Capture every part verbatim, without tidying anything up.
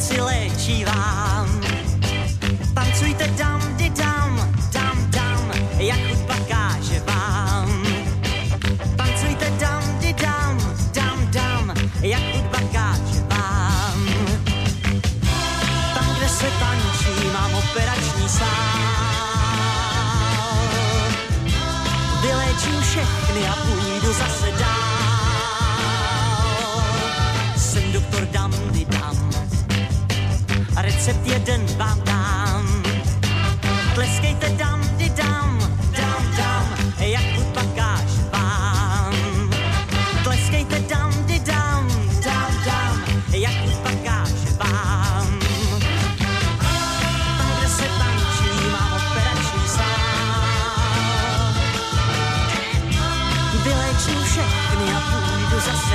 srdci léčí vám. Tancujte dam, di dam, dam, dam, jak hudba káže vám. Tancujte dam, di dam, dam, dam, jak hudba káže vám. Tam, kde se tančí, mám operační sál. Vyléčím všechny a půjdu zase dál. Jsem doktor dam, di dam, a recept jeden vám dám. Tleskejte dam, di dam, dam, dam, jak hudba káže vám. Tleskejte dam, di dam, dam, dam, jak hudba káže vám. Tam, kde se tančí, mám operační sál. Vyléčím všechny a půjdu zase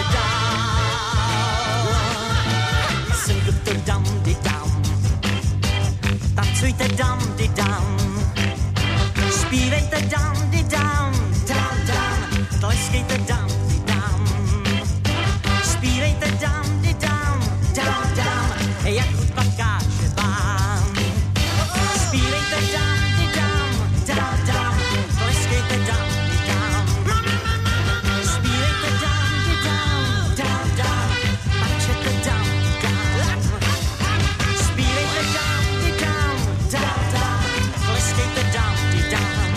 dál. Jsem doktor dam, di dam, tancujte dam, di dam, zpívejte dam, di dam, dam, dam, tleskejte dam, di dam, zpívejte dam, di dam, dam, dam, jak hudba káže vám. Zpívejte dam, di dam, dam, dam, tleskejte dam, di dam, zpívejte dam, di dam, dam, dam, tančete dam, di dam, zpívejte dam, di dam, dam, dam, tleskejte dam, di dam,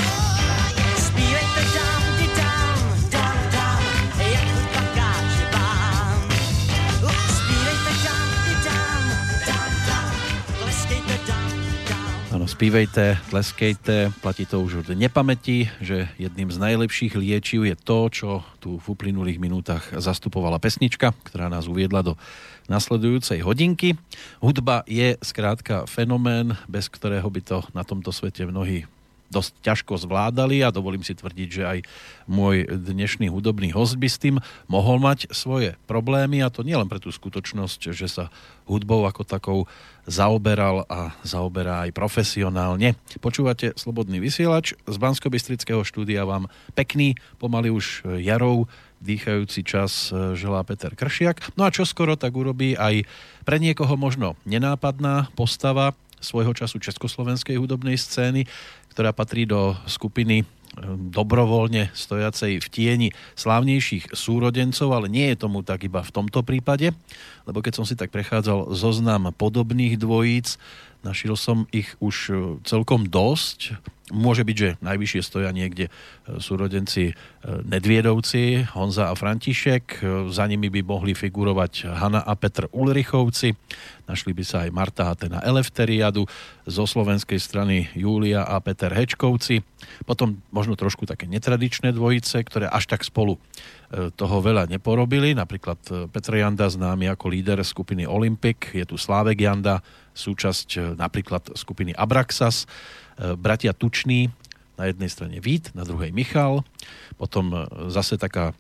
zpívejte dam, di dam, dam, dam, jak hudba káže vám. Zpívejte dam, di dam, dam, dam, tleskejte dam, di dam. Áno, spívejte, tleskejte, platí to už od nepamäti, že jedným z najlepších liečiv je to, čo tu v uplynulých minútach zastupovala pesnička, ktorá nás uviedla do nasledujúcej hodinky. Hudba je skrátka fenomén, bez ktorého by to na tomto svete mnohí dosť ťažko zvládali a dovolím si tvrdiť, že aj môj dnešný hudobný host by s tým mohol mať svoje problémy, a to nielen pre tú skutočnosť, že sa hudbou ako takou zaoberal a zaoberá aj profesionálne. Počúvate Slobodný vysielač, z Banskobystrického štúdia vám pekný, pomaly už jarou dýchajúci čas želá Peter Kršiak. No a čo skoro tak urobí aj pre niekoho možno nenápadná postava svojho času československej hudobnej scény, ktorá patrí do skupiny dobrovoľne stojacej v tieni slávnejších súrodencov, ale nie je tomu tak iba v tomto prípade, lebo keď som si tak prechádzal zoznam podobných dvojíc, našiel som ich už celkom dosť. Môže byť, že najvyššie stoja niekde súrodenci Nedviedovci, Honza a František, za nimi by mohli figurovať Hanna a Petr Ulrichovci, našli by sa aj Marta Hatena Elefteriadu, zo slovenskej strany Júlia a Peter Hečkovci, potom možno trošku také netradičné dvojice, ktoré až tak spolu toho veľa neporobili, napríklad Petr Janda, známy ako líder skupiny Olympic, je tu Slávek Janda, súčasť napríklad skupiny Abraxas, bratia Tučný, na jednej strane Vít, na druhej Michal, potom zase taká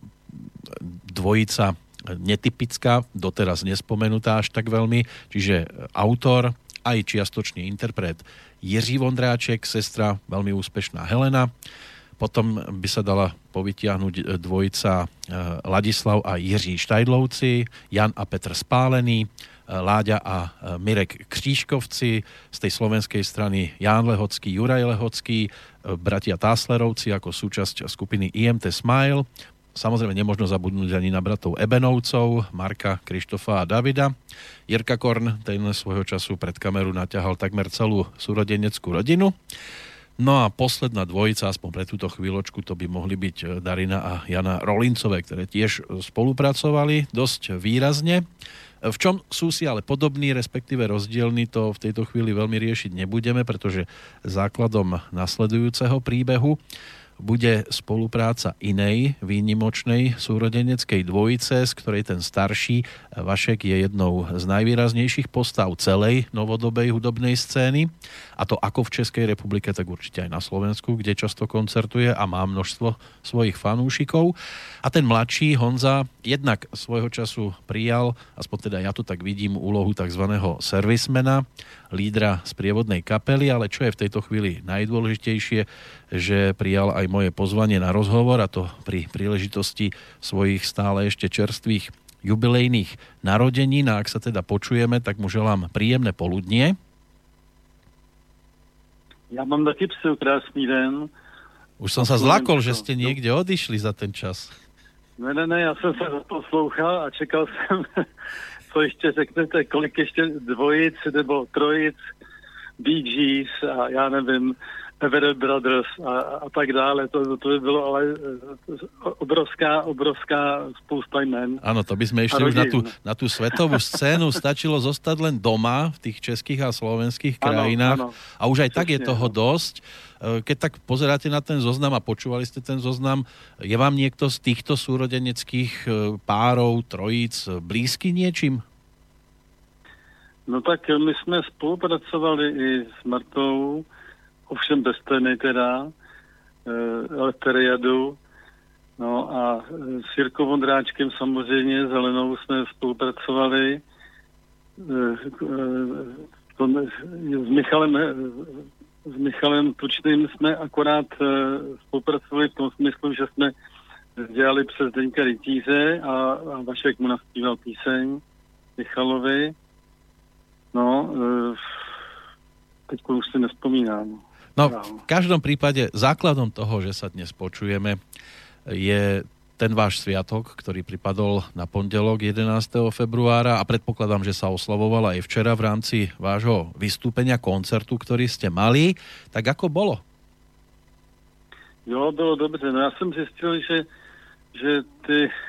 dvojica netypická, doteraz nespomenutá až tak veľmi, čiže autor, aj čiastočný interpret Jiří Vondráček, sestra veľmi úspešná Helena. Potom by sa dala povytiahnuť dvojica Ladislav a Jiří Štajdlovci, Jan a Petr Spálený, Láďa a Mirek Křížkovci, z tej slovenskej strany Ján Lehocký, Juraj Lehocký, bratia Táslerovci ako súčasť skupiny í em té Smile. Samozrejme nemožno zabudnúť ani na bratov Ebenovcov, Marka, Krištofa a Davida. Jirka Korn, ten svojho času pred kameru naťahal takmer celú súrodeneckú rodinu. No a posledná dvojica, aspoň pre túto chvíľočku, to by mohli byť Darina a Jana Rolincové, ktoré tiež spolupracovali dosť výrazne. V čom sú si ale podobní, respektíve rozdielni, to v tejto chvíli veľmi riešiť nebudeme, pretože základom nasledujúceho príbehu bude spolupráca inej výnimočnej súrodeneckej dvojice, z ktorej ten starší Vašek je jednou z najvýraznejších postav celej novodobej hudobnej scény, a to ako v Českej republike, tak určite aj na Slovensku, kde často koncertuje a má množstvo svojich fanúšikov. A ten mladší Honza jednak svojho času prijal, aspoň teda ja to tak vidím, úlohu takzvaného servismena, lídra sprievodnej kapely, ale čo je v tejto chvíli najdôležitejšie, že prijal aj moje pozvanie na rozhovor, a to pri príležitosti svojich stále ešte čerstvých jubilejných narodenín a ak sa teda počujeme, tak mu želám príjemné poludnie. Ja mám taky přeju krásný den. Už som sa zlakol, že ste niekde odišli za ten čas. Ne, ne, ne, já jsem se poslouchal a čekal jsem, co ještě řeknete, kolik ještě dvojic nebo trojic, Bee Gees a já nevím, Everett Brothers a, a tak dále. To, to by bylo ale obrovská, obrovská spousta jmen. Áno, to by sme ešte už na tú, na tú svetovú scénu stačilo zostať len doma v tých českých a slovenských krajinách. Áno, áno. A už aj tak je toho dosť. Keď tak pozeráte na ten zoznam a počúvali ste ten zoznam, je vám niekto z týchto súrodeneckých párov, trojíc blízky niečím? No tak my jsme spolupracovali i s Martou, ovšem bez tény teda, Eleftheriadu, no a s Jirkou Vondráčkem samozřejmě, s Helenou jsme spolupracovali, s Michalem, s Michalem Tučným jsme akorát spolupracovali v tom smyslu, že jsme dělali přes Deňka Rytíře a, a Vašek mu naspíval píseň Michalovi. No, teď už si nespomínám. No, v každom prípade základom toho, že sa dnes počujeme, je ten váš sviatok, ktorý pripadol na pondelok jedenásteho februára a predpokladám, že sa oslavoval aj včera v rámci vášho vystúpenia, koncertu, ktorý ste mali. Tak ako bolo? Jo, bylo dobře. No já jsem zjistil, že, že ty e,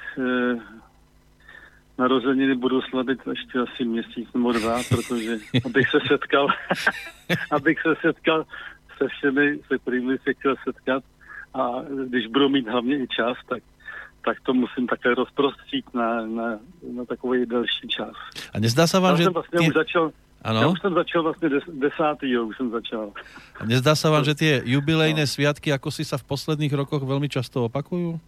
narozeniny budu slavit ještě asi měsíc nebo dva, protože abych se setkal, abych se setkal se všemi, se kterými se chtěl setkat a když budu mít hlavně i čas, tak tak to musím také rozprostřít na, na, na takový delší čas. A nezdá sa vám, já že... Jsem vlastně ty... už začal, já už jsem začal vlastně des, desátýho, už jsem začal. A nezdá sa vám, že tie jubilejné no. sviatky, ako si sa v posledných rokoch veľmi často opakujú?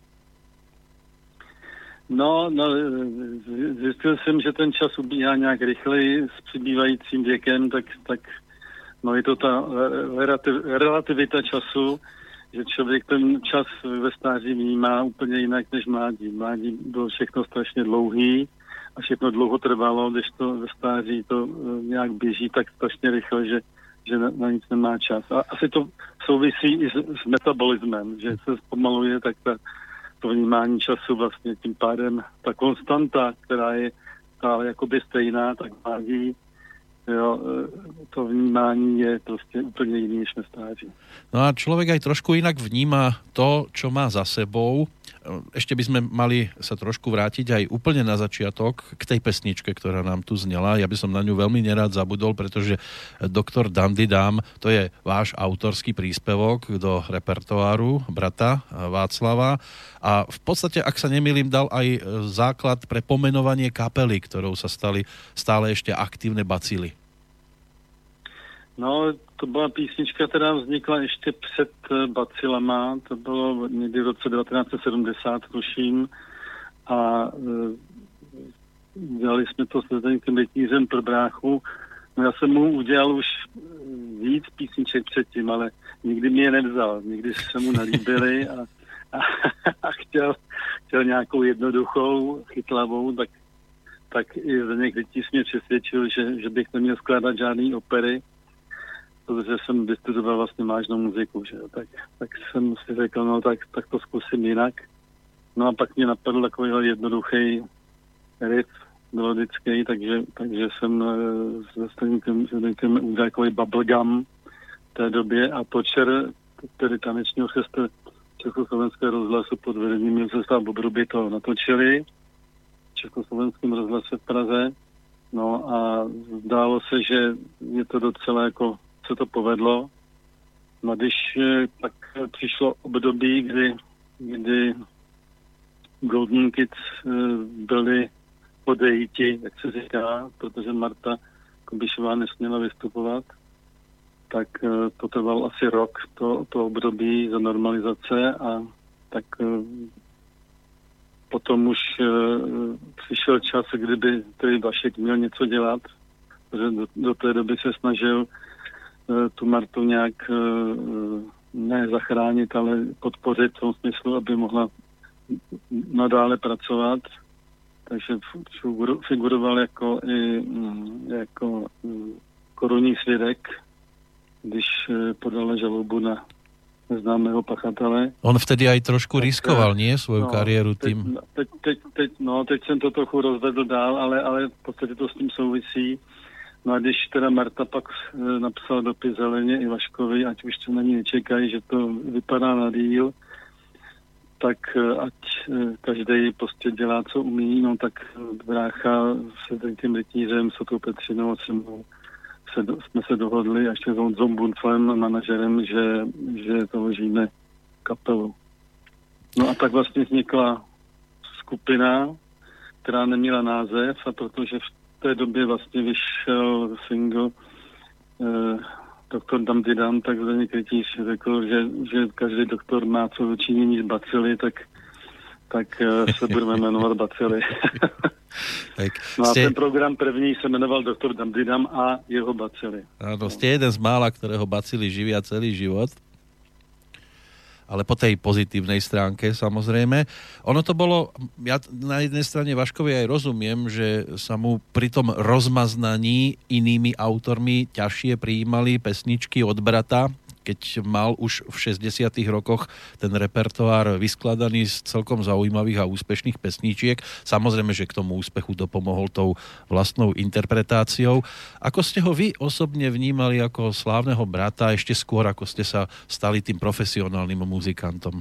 No, no, zjistil jsem, že ten čas ubíhá nějak rychleji s přibývajícím věkem, tak, tak no je to ta relativ, relativita času, že člověk ten čas ve stáří vnímá úplně jinak než mládí. Mládí bylo všechno strašně dlouhý a všechno dlouho trvalo, když to ve stáří to nějak běží tak strašně rychle, že, že na, na nic nemá čas. A asi to souvisí i s, s metabolismem, že se zpomaluje tak ta, to vnímání času vlastně tím pádem. Ta konstanta, která je stále jakoby stejná, tak mládí, jo, to vnímání je prostě úplně jiný než na stáří. No a človek aj trošku inak vníma to, čo má za sebou. Ešte by sme mali sa trošku vrátiť aj úplne na začiatok k tej pesničke, ktorá nám tu znela. Ja by som na ňu veľmi nerád zabudol, pretože doktor Dandy Dám, to je váš autorský príspevok do repertoáru brata Václava a v podstate, ak sa nemýlim, dal aj základ pre pomenovanie kapely, ktorou sa stali stále ešte aktívne bacily. No, to byla písnička, která vznikla ještě před bacilama, to bylo někdy v roce devatenáct set sedmdesát, tuším, a e, dělali jsme to s Zdeňkem Rytířem pro bráchu. No já jsem mu udělal už víc písniček předtím, ale nikdy mě je nevzal, nikdy se mu nelíbily a, a, a chtěl, chtěl nějakou jednoduchou, chytlavou, tak, tak i Zdeněk Rytíř mě přesvědčil, že, že bych neměl skládat žádný opery, protože jsem vystudoval vlastně vážnou muziku, že jo, tak, tak jsem si řekl, no tak, tak to zkusím jinak. No a pak mě napadl takový jednoduchý riff melodický, takže, takže jsem se Zdeňkem udělal takový bubblegum v té době a Točer, tedy taneční orchestr Československého rozhlasu pod vedením Josefa Bobruby to natočili v Československém rozhlase v Praze. No a zdálo se, že je to docela jako se to povedlo. No když pak přišlo období, kdy, kdy Golden Kids byli odejiti, jak se říká, protože Marta Kubišová nesměla vystupovat, tak to trvalo asi rok, to, to období za normalizace a tak potom už přišel čas, kdyby tedy Vašek měl něco dělat, protože do, do té doby se snažil tu Martu nějak ne zachránit, ale podpořit v tom smyslu, aby mohla nadále pracovat. takže figuroval jako, i, jako korunní svědek, když podal žalobu na neznámého pachatele. On vtedy aj trošku tak, riskoval, nie? Svoju no, kariéru teď, tým. Teď, teď, teď, no, teď jsem to trochu rozvedl dál, ale, ale v podstatě to s tím souvisí. No a když teda Marta pak e, napsala dopis Heleně Ivaškovi, ať už to na ní nečekají, že to vypadá na díl, tak e, ať e, každý prostě dělá, co umí, no tak brácha se tím rytířem, s tou Petřinou a se mnou se, jsme se dohodli a ještě s Honzou Bunflem, manažerem, že, že založíme kapelu. No a tak vlastně vznikla skupina, která neměla název, a protože v té době vlastně vyšel single eh, doktor Damdidam, tak Zdeněk Rytíř řekl, že, že každý doktor má co dočinění s bacily, tak, tak eh, se budeme jmenovat bacily. Tak no a ste... ten program první se jmenoval doktor Damdidam a jeho bacily. Áno, ste jeden z mála, ktorého bacily živia celý život. Ale po tej pozitívnej stránke, samozrejme. Ono to bolo, ja na jednej strane Vaškovi aj rozumiem, že sa mu pri tom rozmaznaní inými autormi ťažšie prijímali pesničky od brata, keď mal už v šesťdesiatych rokoch ten repertoár vyskladaný z celkom zaujímavých a úspešných pesničiek. Samozrejme, že k tomu úspechu dopomohol tou vlastnou interpretáciou. Ako ste ho vy osobne vnímali ako slávneho brata ešte skôr, ako ste sa stali tým profesionálnym muzikantom?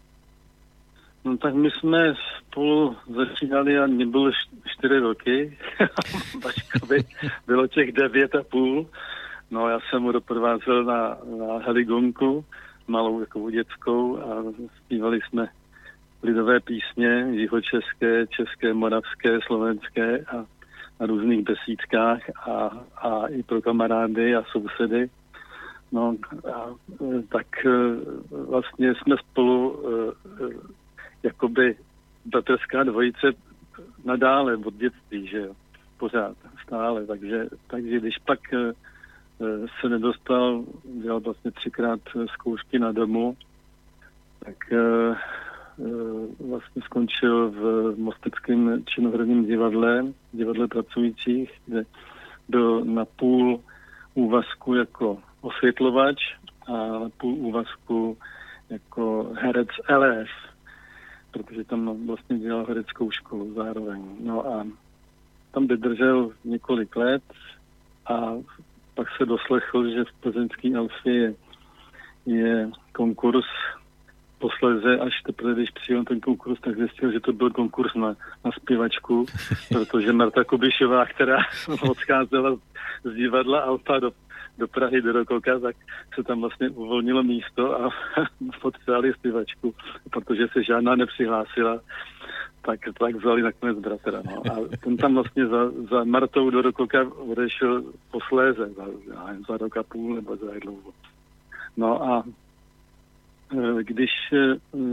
No tak my jsme spolu začínali a mě bylo čtyři roky. Vaškovi bylo těch devět a půl. No já jsem mu doprovázel na, na heligonku, malou jako dětskou, a zpívali jsme lidové písně, jihočeské, české, moravské, slovenské a na různých besídkách a, a i pro kamarády a sousedy. No a tak vlastně jsme spolu jakoby bratrská dvojice nadále od dětství, že jo, pořád, stále, takže, takže když pak se nedostal, dělal vlastně třikrát zkoušky na domu, tak uh, uh, vlastně skončil v Mosteckém činoherním divadle, divadle pracujících, kde byl na půl úvazku jako osvětlovač a na půl úvazku jako herec L F, protože tam vlastně dělal hereckou školu zároveň. No a tam vydržel několik let a pak se doslechl, že v plzeňský Alfě je, je konkurs. Posléze, až teprve, když přijel ten konkurs, tak zjistil, že to byl konkurs na, na zpěvačku, protože Marta Kubišová, která odcházela z divadla Alfa do, do Prahy, do Rokoka, tak se tam vlastně uvolnilo místo a potřebovali zpěvačku, protože se žádná nepřihlásila. Tak, tak vzali nakonec bratra. No. A ten tam vlastně za, za Martou do Rokoka odešel posléze, za, za rok a půl nebo za dlouho. No a e, když... E,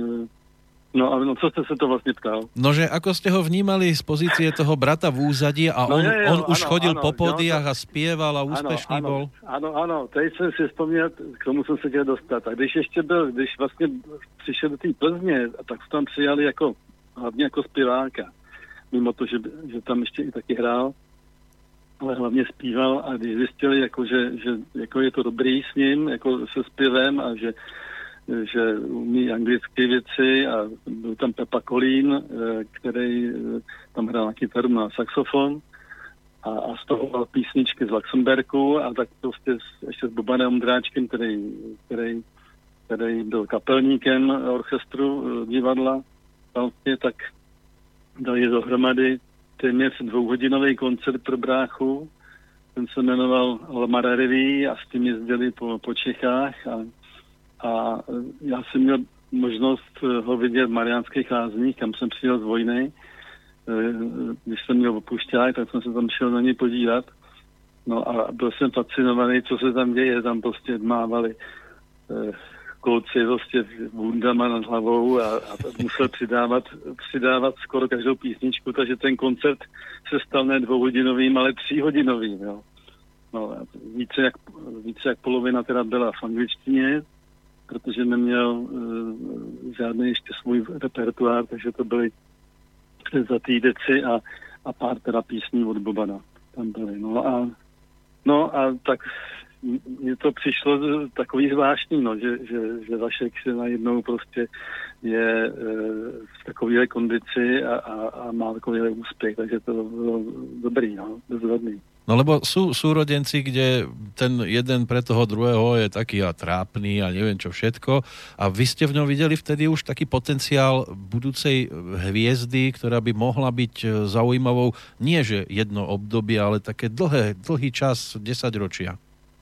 no a no, co jste se to vlastně ptal? No, že ako ste ho vnímali z pozície toho brata v úzadí a on, no, je, je, on už ano, chodil ano, po pódiách a spieval a úspešný ano, bol? Ano, ano, teď jsem si vzpomněl, k tomu jsem se chtěl dostat. A když ještě byl, když vlastně přišel do té Plzně, tak tam přijali jako hlavně jako zpěváka, mimo to, že, že tam ještě i taky hrál, ale hlavně zpíval a když zjistili, jako, že, že jako je to dobrý s ním, jako se zpěvem a že, že umí anglické věci a byl tam Pepa Kolín, který tam hrál na kytaru, na saxofon a, a z toho mal písničky z Luxemburku a tak prostě ještě s Bobanem Ondráčkem, který, který, který byl kapelníkem orchestru divadla, vlastně, tak dali dohromady téměř dvouhodinový koncert pro bráchu. Ten se jmenoval Lamara Reví a s tím jezdili po, po Čechách a, a já jsem měl možnost ho vidět v Mariánských Lázních, kam jsem přijel z vojny. Když jsem měl opušťák, tak jsem se tam šel na něj podívat. No a byl jsem fascinovaný, co se tam děje. Tam prostě mávali kluci prostě bundama nad hlavou a, a musel přidávat, přidávat skoro každou písničku, takže ten koncert se stal ne dvouhodinovým, ale tříhodinovým. Jo. No, více, jak, více jak polovina teda byla v angličtině, protože neměl uh, žádný ještě svůj repertoár, takže to byly Převzatý deci a, a pár teda písní od Bobana tam byly. No a, no a tak mně to přišlo takový zvláštní, no, že, že, že Vašek se najednou prostě je e, v takovéhle kondici a, a, a má takovýhle úspěch, takže to bylo dobrý, no, bezvadný. No lebo sú súrodenci, kde ten jeden pre toho druhého je taký a trápny a neviem čo všetko. A vy ste v ňom videli vtedy už taký potenciál budúcej hviezdy, ktorá by mohla byť zaujímavou, nie že jedno obdobie, ale také dlhé, dlhý čas, desaťročia.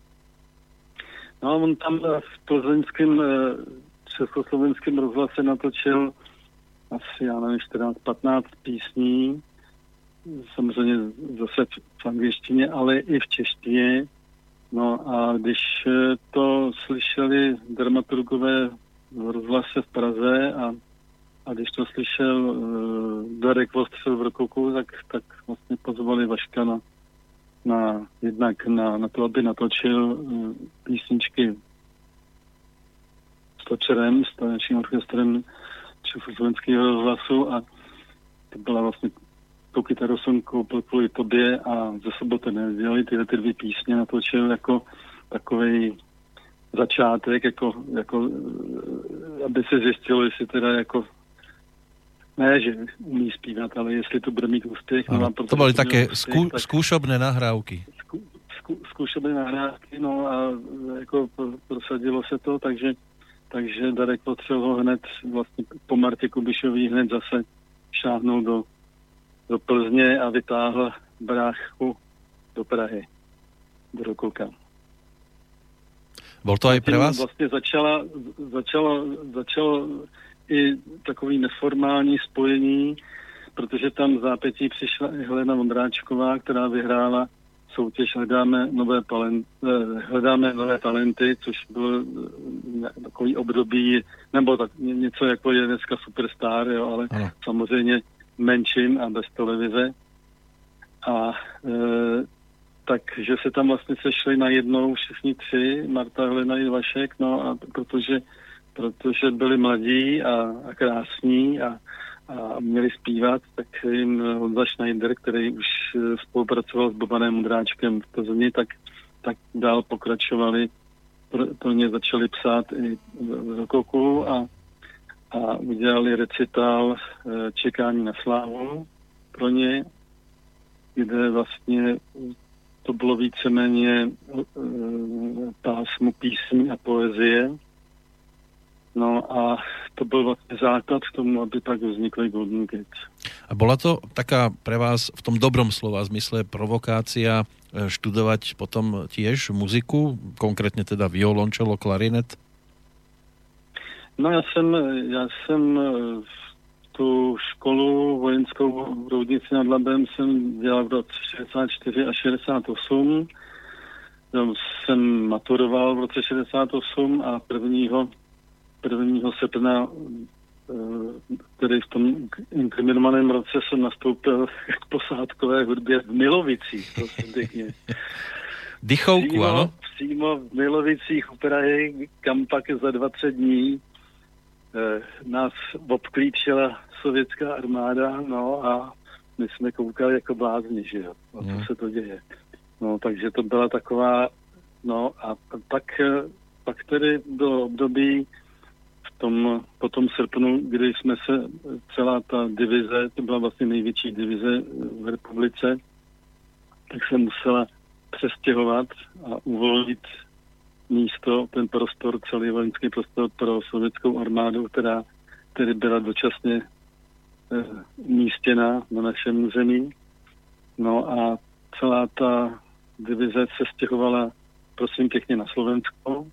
No on tam v plzeňském československém rozhlase natočil asi, já nevím, čtrnáct patnáct písní, samozřejmě zase v angličtině, ale i v češtině. No a když to slyšeli dramaturgové v rozhlase v Praze a, a když to slyšel uh, Darek Vostřel v Rokoku, tak, tak vlastně pozvali Vaška na, na jednak na, na to, aby natočil uh, písničky s Točerem, s tanečním orchestrem československého rozhlasu a to byla vlastně tu kytaru jsem koupil kvůli tobě a ze Soboty nedělali tyhle ty dvě písně, natočil jako takovej začátek, jako, jako aby se zjistilo, jestli teda jako ne, že umí zpívat, ale jestli to bude mít úspěch. No, no, to byly také skú, tak, skúšobné nahrávky. Skú, skú, skúšobné nahrávky, no a jako prosadilo se to, takže, takže Darek potřeboval ho hned vlastně po Martě Kubišový hned zase šáhnul do do Plzně a vytáhl bráchu do Prahy, do Rokoka. Bol to aj pre vás? Vlastně začala, začalo, začalo i takový neformální spojení, protože tam v zápětí přišla i Helena Vondráčková, která vyhrála soutěž Hledáme nové, talent, hledáme nové talenty, což bylo takový období, nebo tak něco jako je dneska Superstar, jo, ale ano. Samozřejmě menšin a bez televize. A e, takže se tam vlastně sešli najednou všichni tři, Marta, Helena i Vašek, no a protože, protože byli mladí a, a krásní a, a měli zpívat, tak jim Honza Schneider, který už spolupracoval s Bobanem Mudráčkem v Plzni, tak, tak dál pokračovali, pro, pro ně začali psát i v Rokoku a a udělali recitál Čekání na slávu pro ně, kde vlastně to bylo víceméně pásmo písní a poezie. No a to byl vlastně základ k tomu, aby pak vznikly Golden Kids. A bola to taká pre vás v tom dobrom slova zmysle provokácia študovať potom tiež muziku, konkrétne teda violončelo, klarinet? No já jsem, já jsem tu školu vojenskou v Roudnici nad Labem jsem dělal v roce šedesát čtyři a šedesát osm. Jsem maturoval v roce šedesát osm a prvního, prvního srpna, tedy v tom inkriminovaném roce jsem nastoupil k posádkové hudbě v Milovicích, prosím pěkně. Dychovku, ano? Přímo v Milovicích u Prahy, kam pak za dvacet dní nás obklíčila sovětská armáda, no a my jsme koukali jako blázni, že jo, a co se to děje. No, takže to byla taková, no a pak, pak tedy bylo období v tom, po tom srpnu, kdy jsme se, celá ta divize, to byla vlastně největší divize v republice, tak se musela přestěhovat a uvolnit místo, ten prostor, celý vojenský prostor pro sovětskou armádu, která tedy byla dočasně eh, umístěna na našem území. No a celá ta divize se stěhovala, prosím pěkně, na Slovensko.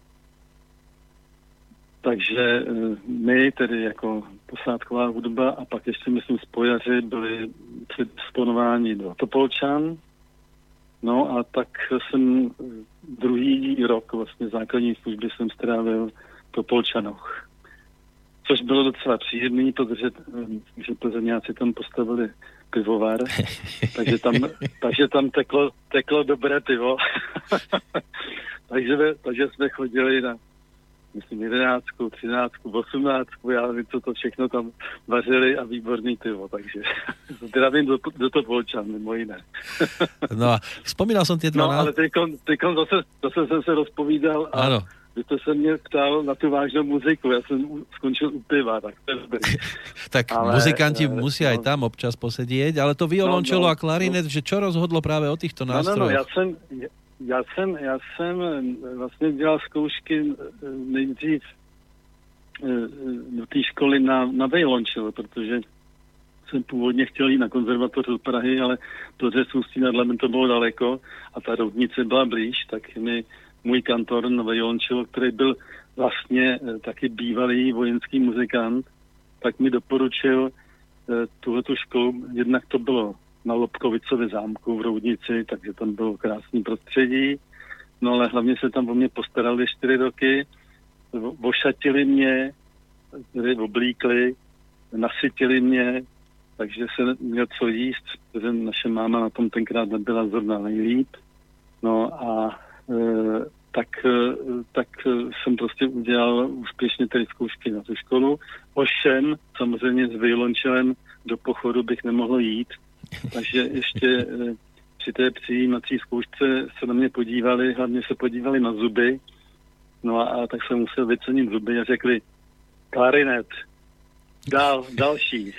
Takže eh, my, tedy jako posádková hudba a pak ještě, myslím, spojaři byli předisponováni do Topolčan. No a tak jsem druhý rok vlastně základní služby jsem strávil v Topolčanoch. Což bylo docela příjemný, protože že Plzeňáci tam postavili pivovar, takže tam, takže tam teklo, teklo dobré pivo. takže, takže jsme chodili na, myslím jedenáctku, třináctku, osmnáctku, já nevím, co to všechno tam vařili a výborný pivo, takže zdravím do, do to Volčan, mimo jiné. No a vzpomínal som tie dva... No, ale teďkon, teďkon zase, zase jsem se rozpovídal a ano. Vy jste se mě ptal na tu vážnou muziku, já jsem skončil u piva, tak to je dobrý. Tak ale, muzikanti ale, musia no, aj tam občas posedieť, ale to violončelo no, no, a klarinet, no. Že čo rozhodlo práve o týchto nástrojoch? No, no, no, já jsem, já jsem, já jsem vlastně dělal zkoušky nejdřív do té školy na, na violončelo, protože jsem původně chtěl jít na konzervatoř do Prahy, ale to, že Ústí nad Labem to bylo daleko a ta Roudnice byla blíž, tak mi můj kantor na violončelo, který byl vlastně taky bývalý vojenský muzikant, tak mi doporučil tuhletu školu. Jednak to bylo na Lobkovicově zámku v Roudnici, takže tam bylo krásný prostředí. No ale hlavně se tam o mě postarali čtyři roky, ošatili mě, oblíkli, nasytili mě, takže se měl co jíst, protože naše máma na tom tenkrát nebyla zrovna nejlíp. No a e, tak, e, tak jsem prostě udělal úspěšně tady zkoušky na tu školu. Ovšem, samozřejmě s violončelem do pochodu bych nemohl jít, takže ještě e, při té přijímací zkoušce se na mě podívali, hlavně se podívali na zuby, no a, a tak jsem musel vycenit zuby a řekli klarinet. Dál, další.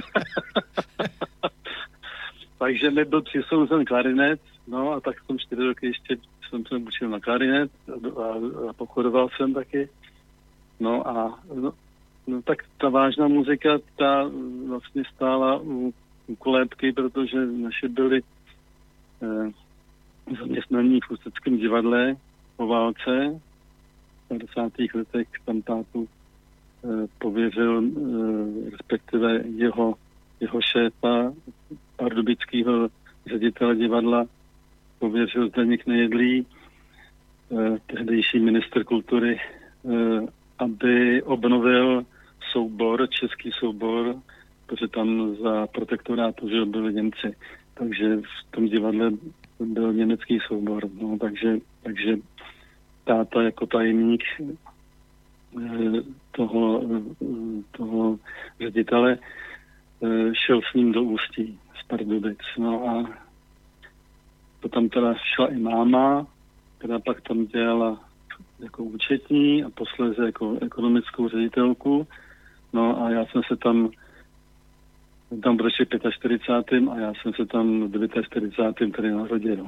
Takže mi byl přisouzen klarinet, no a tak jsem čtyři roky ještě jsem se učil na klarinet a, a, a pochodoval jsem taky. No a no, no, tak ta vážná muzika, ta vlastně stála u, u kolébky, protože naše byli eh, zaměstnaní v Ústeckém divadle po válce v padesátých letech tam tátu pověřil respektive jeho, jeho šéfa, pardubického ředitele divadla, pověřil Zdeněk Nejedlý, tehdejší ministr kultury, aby obnovil soubor, český soubor, protože tam za protektorátu že byli Němci. Takže v tom divadle byl německý soubor. No, takže, takže táta jako tajemník toho, toho ředitele šel s ním do Ústí z Pardubic. No a to tam teda šla i máma, která pak tam dělala jako účetní a posléze jako ekonomickou ředitelku. No a já jsem se tam tam prošli čtyřicátým pátým a já jsem se tam čtyřicátým devátým tady narodil.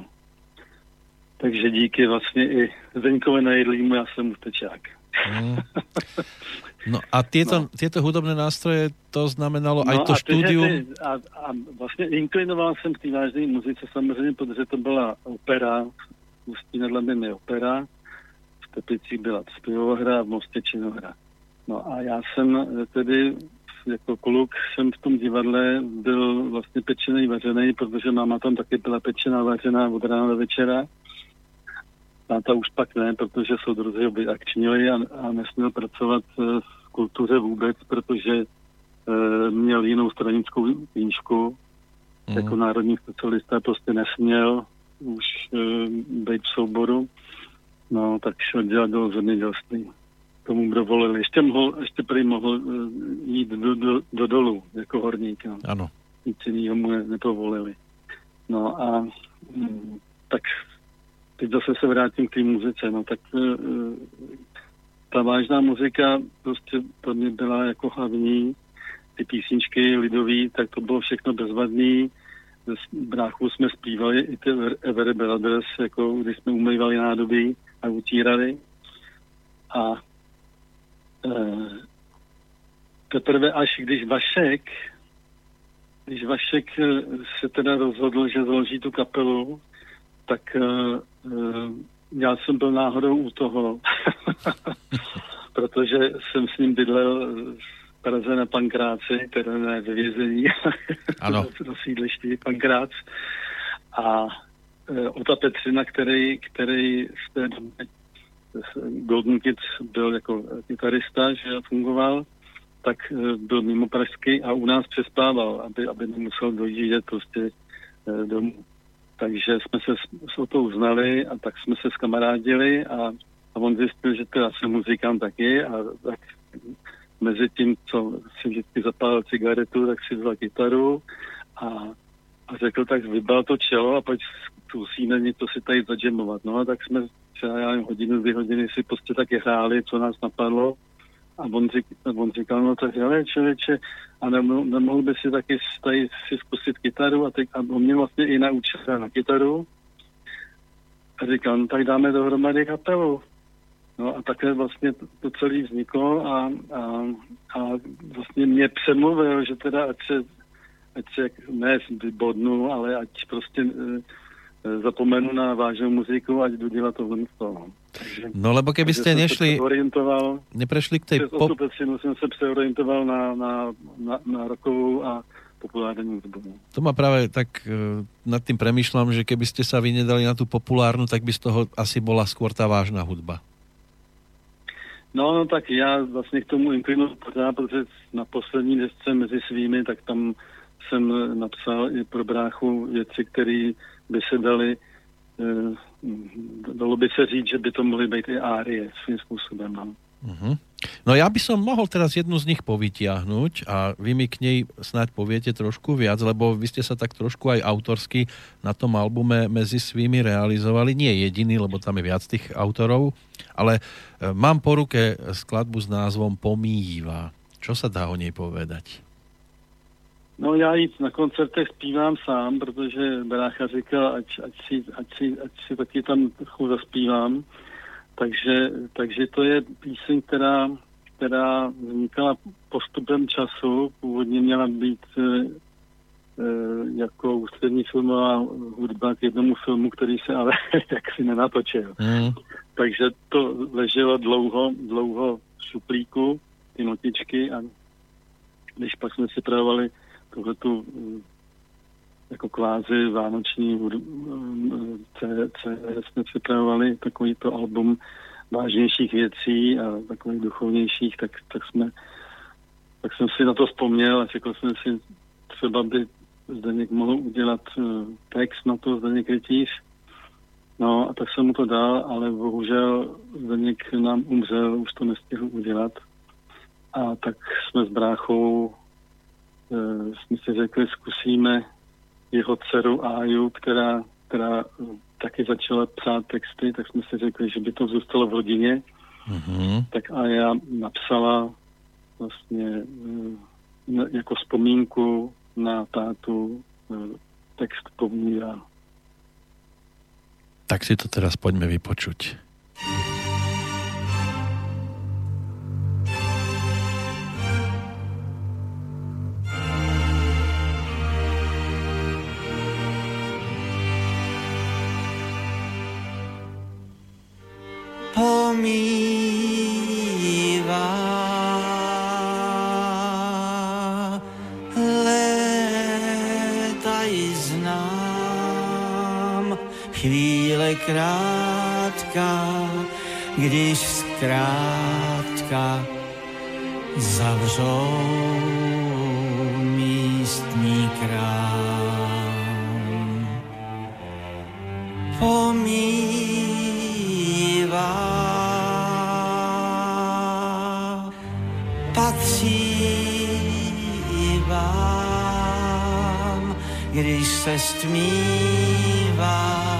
Takže díky vlastně i Zdeňkovi Nejedlýmu já jsem ústečák. Mm. No a tieto, no. tieto hudobné nástroje, to znamenalo aj no to štúdium? A, a vlastně inklinoval jsem k té vážné muzice samozřejmě, protože to byla opera, v Ústí nad Labem je opera, v Teplicích byla zpěvohra, v Mostě činohra. No a já jsem tedy jako kluk jsem v tom divadle byl vlastně pečený, vařený, protože máma tam taky byla pečená, vařená od rána do večera. Táta už pak ne, protože soudruzi ho vyakčnili a, a nesměl pracovat v kultuře vůbec, protože e, měl jinou stranickou knížku. Mm. Jako národní specialista prostě nesměl už e, být v souboru. No, tak šel dělat do zemědělství. Tomu dovolili. Ještě, mohl, ještě prý mohl e, jít do, do, do dolu jako horník. No. Ano. Nic jiného mu nepovolili. No a m, tak teď zase se vrátím k té muzice, no tak e, ta vážná muzika prostě pro mě byla jako hlavní, ty písničky lidový, tak to bylo všechno bezvadný. S bráchou jsme zpívali i ty Every Brothers, jako když jsme umývali nádobí a utírali. A e, teprve až když Vašek, když Vašek se teda rozhodl, že založí tu kapelu, tak uh, já jsem byl náhodou u toho, protože jsem s ním bydlel v Praze na Pankráci, teda ne ve vězení, do sídliště Pankrác. A uh, Ota Petřina, který, který v té době Golden Kids byl jako kytarista, že fungoval, tak uh, byl mimo pražský a u nás přespával, aby, aby nemusel dojíždět prostě uh, domů. Takže jsme se s Otou znali a tak jsme se skamarádili a, a on zjistil, že teda jsem muzikant taky a tak mezi tím, co si vždycky zapálil cigaretu, tak si vzal kytaru a, a řekl, tak vybal to čelo a pojď zkusíme něco si tady zadžemovat. No a tak jsme třeba já nevím, hodinu, dvě hodiny si prostě taky hráli, co nás napadlo. A on, řík, on říkal, no tak ale člověče, a nemohl, nemohl by si taky tady si zkusit kytaru a, teď, a on mě vlastně i naučil na kytaru. A říkal, no tak dáme dohromady kapelu. No a takhle vlastně to, to celé vzniklo a, a, a vlastně mě přemluvil, že teda ať se, ať se ne vybodnu, ale ať prostě e, zapomenu na vážnou muziku, ať jdu dělat tohle z toho. Takže, no lebo keby ste nešli, neprešli k tej pop... Som sa preorientoval na, na, na, na rockovú a populárnu hudbu. To ma práve tak e, nad tým premýšľam, že keby ste sa vy nedali na tú populárnu, tak by z toho asi bola skôr tá vážna hudba. No, no tak já vlastně k tomu inklinu pořád, protože na poslední desce mezi svými, tak tam jsem napsal i pro bráchu věci, které by se daly dalo by sa říct, že by to mohli byť aj árie svým spôsobom. No. Uh-huh. No ja by som mohol teraz jednu z nich povytiahnuť a vy mi k nej snáď poviete trošku viac, lebo vy ste sa tak trošku aj autorsky na tom albume Mezi svými realizovali. Nie jediný, lebo tam je viac tých autorov, ale mám po ruke skladbu s názvom Pomýva. Čo sa dá o nej povedať? No já jí na koncertech zpívám sám, protože brácha říkal, ať, ať, si, ať, si, ať si taky tam trochu zaspívám. Takže, takže to je píseň, která, která vznikala postupem času. Původně měla být e, e, jako ústřední filmová hudba k jednomu filmu, který se ale jaksi nenatočil. Mm. Takže to leželo dlouho, dlouho v šuplíku, ty notičky, a když pak jsme si pravovali tuhletu jako kvázi vánoční C D jsme připravovali takovýto album vážnějších věcí a takových duchovnějších, tak, tak jsme tak jsem si na to vzpomněl a řekl jsem si, třeba by Zdeněk mohl udělat text na to, Zdeněk Rytíř. No a tak jsem mu to dal, ale bohužel Zdeněk nám umřel, už to nestihl udělat. A tak jsme s bráchou jsme si řekli, zkusíme jeho dceru Áju, která, která taky začala psát texty, tak jsme si řekli, že by to zůstalo v rodině. Mm-hmm. Tak a já napsala vlastně jako vzpomínku na tátu text Pomýva. Tak si to teraz poďme vypočuť. Pomýva léta i znám, chvíle krátká, když zkrátka zavřou místní krám. Pomýva patří vám, když se stmívá,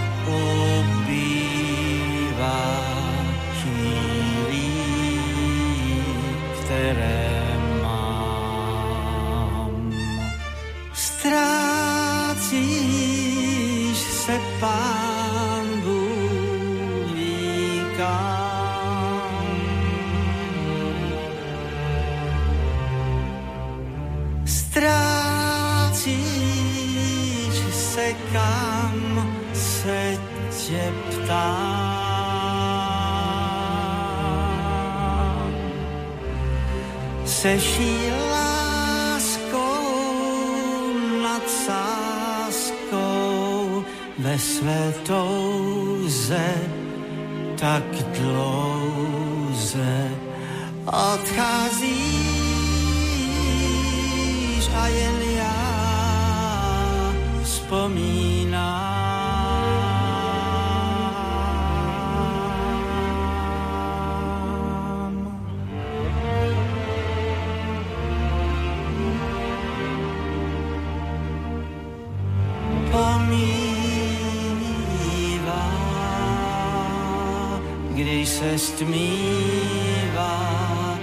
ubývá chvílí, které mám. Ztrácíš se, Pán Bůh ví kam. Ztrácíš se, kam se tě ptám. Se vší láskou nad sáskou ve své touze tak dlouze odcházíš a jen já vzpomínám. když se stmívá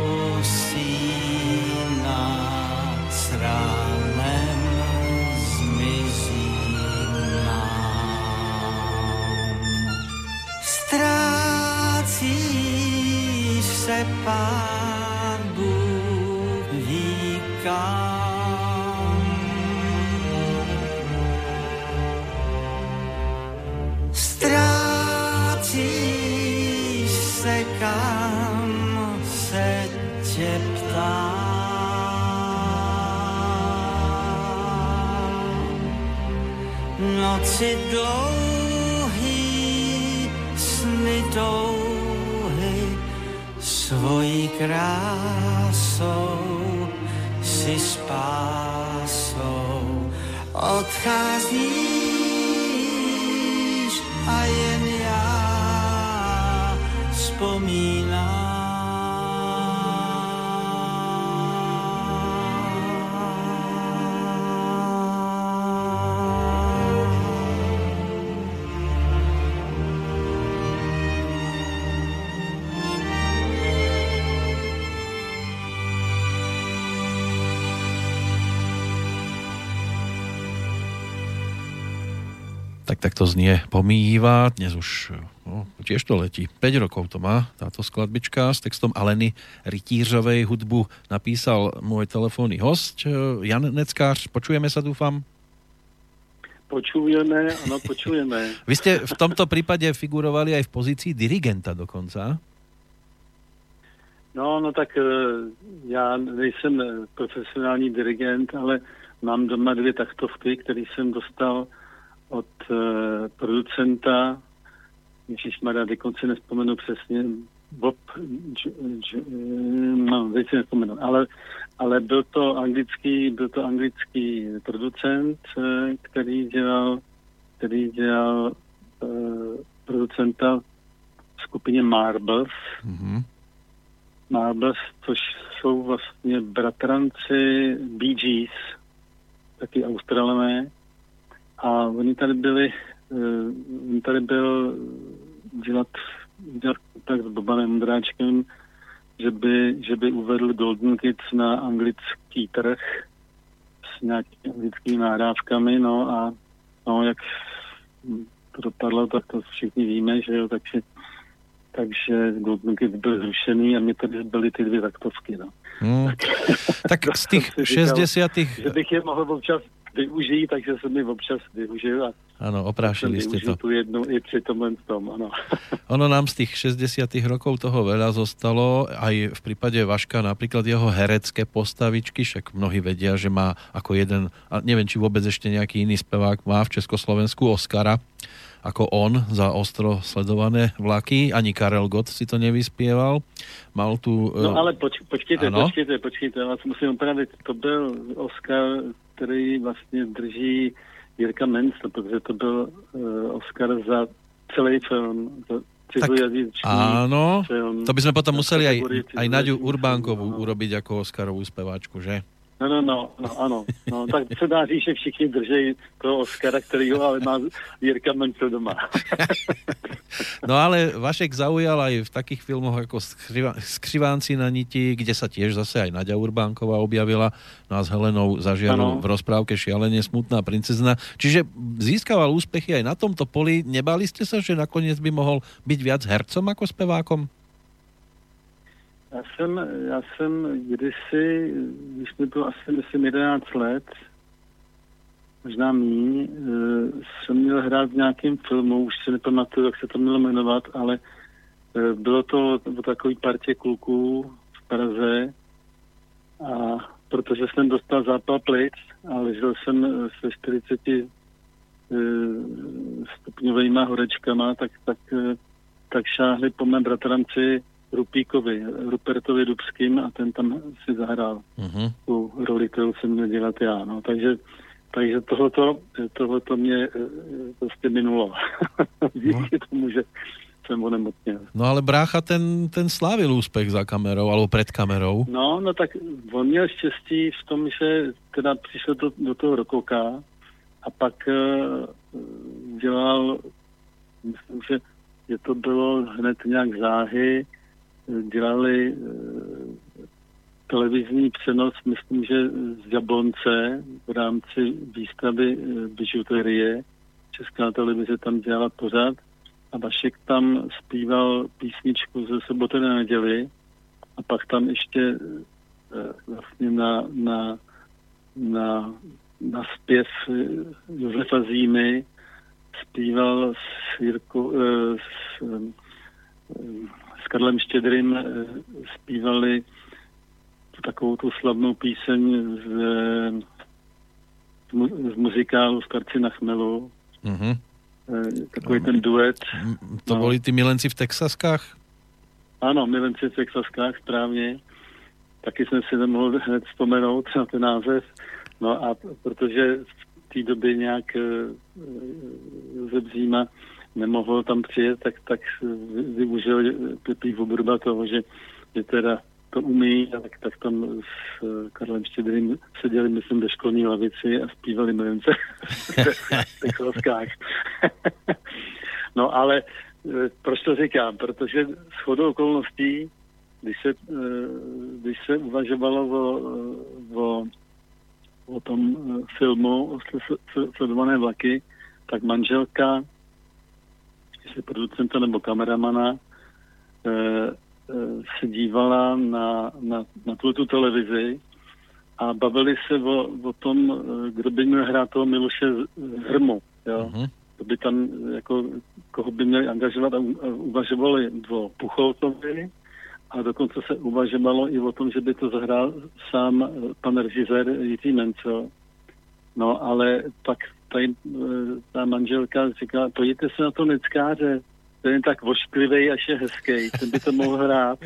usíná s ránem zmizí nám. Ztrácíš se, Pán Bůh ví kam. Ztrácíš se, kam se tě ptám. Noci dlouhý, sny touhy, svojí krásou si spásou odcházíš a jen já vzpomínám. Tak takto znie Pomýva. Dnes už no, tiež to letí. päť rokov to má táto skladbička s textom Aleny Rytířovej. Hudbu napísal môj telefónny host Jan Neckář. Počujeme sa, dúfam? Počujeme, áno, počujeme. Vy ste v tomto prípade figurovali aj v pozícii dirigenta dokonca. No, no tak já nejsem profesionální dirigent, ale mám doma dvě taktovky, které jsem dostal od uh, producenta, ježišmarja, dokonce nespomenu přesně, Bob, j, j, no, teď si nespomenu, ale, ale byl to anglický, byl to anglický producent, který dělal, který dělal uh, producenta v skupině Marbles. Mm-hmm. Marbles, což jsou vlastně bratranci Bee Gees, taky Australané. A oni tady byli, uh, oni tady byl dělat, dělat kontakt s Bobanem Ondráčkem, že by, že by uvedl Golden Kids na anglický trh s nějakými anglickými nahrávkami, no a no, jak to dopadlo, tak to všichni víme, že jo, takže, takže Golden Kids byl zrušený a mě tady byly ty dvě taktovky, no. Hmm. Tak, tak z těch šesťdesiatych... Že bych je mohl občas využijí, takže jsem mi občas využil a áno, oprášili ste to. Tu jednu i pri tom len tom, áno. Ono nám z tých šesťdesiatych rokov toho veľa zostalo, aj v prípade Vaška napríklad jeho herecké postavičky, však mnohí vedia, že má ako jeden, a neviem, či vôbec ešte nejaký iný spevák má v Československu Oscara, ako on za ostro sledované vlaky. Ani Karel Gott si to nevyspieval. Mal tu... No ale poč- počkejte, ano? počkejte, počkejte, já vás musím opravit. To byl Oscar, který vlastně drží Jirka Menzel, protože to byl uh, Oscar za celý film, za cizojazyčný áno, film. To by sme potom museli aj, aj Naďu Urbánkovú no. urobiť ako Oscarovú speváčku, že? No, no, no, no, ano. No, tak se dá říct, že všichni drží toho Oscara, kterýho ale má Jirka Menzel doma. No ale Vašek zaujal aj v takých filmoch ako Skřivánci na niti, kde sa tiež zase aj Naďa Urbánková objavila, no a s Helenou Zažiarovou v rozprávke Šialene smutná princezna. Čiže získaval úspechy aj na tomto poli. Nebáli ste sa, že nakoniec by mohol byť viac hercom ako spevákom? Já jsem, já jsem kdysi, když mi bylo asi myslím jedenáct let, možná míň, jsem měl hrát v nějakém filmu, už si nepamatuju, jak se to mělo jmenovat, ale bylo to o takový partě kluků v Praze a protože jsem dostal zápal plic a ležel jsem se čtyřiceti stupňovejma horečkama, tak, tak, tak šáhli po mém bratranci Rupíkovi, Rupertovi Dubským a ten tam si zahrál uh-huh. tu roli, kterou jsem měl dělat já. No. Takže, takže tohleto, tohleto mě prostě minulo. Díky no. tomu, že jsem onemocněl. No ale brácha ten, ten slávil úspech za kamerou, alebo před kamerou. No, no tak on měl štěstí v tom, že teda přišel do, do toho rokoka a pak uh, dělal, myslím, že že to bylo hned nějak záhy, dělali televizní přenos, myslím, že z Jablonce v rámci výstavy bižuterie. Česká televize tam dělala pořád a Vašek tam zpíval písničku ze Soboty na neděli a pak tam ještě vlastně na, na, na, na zpěv Josefa Zímy zpíval s, Jirko, s, s Karlem Štědrým zpívali takovou tu slavnou píseň z, z muzikálu Starci na chmelu. Mm-hmm. Takový ten duet. To no. Boli ty Milenci v Texaskách? Ano, Milenci v Texaskách, správně. Taky jsem si nemohl hned vzpomenout na ten název. No a protože v té době nějak Josef Zíma nemohl tam přijet, tak, tak využil Pepí Voburba toho, že, že teda to umí, tak, tak tam s Karlem Štědrým seděli, myslím, ve školní lavici a zpívali Milence v Texaskách. No ale proč to říkám? Protože shodou okolností, když se, když se uvažovalo o, o, o tom filmu o Sledované vlaky, tak manželka, jestli producenta nebo kameramana, se dívala na, na, na tu televizi a bavili se o, o tom, kdo by měl hrát toho Miloše Hrmu. Jo? Uh-huh. To by tam, jako, koho by měli angažovat a uvažovali o Pucholtovi a dokonce se uvažovalo i o tom, že by to zahrál sám pan režisér Jiří Mencel. No ale pak tady, ta manželka říkala, pojďte se na to Neckáře, ten je tak vošklivej, až je hezký, ten by to mohl hrát.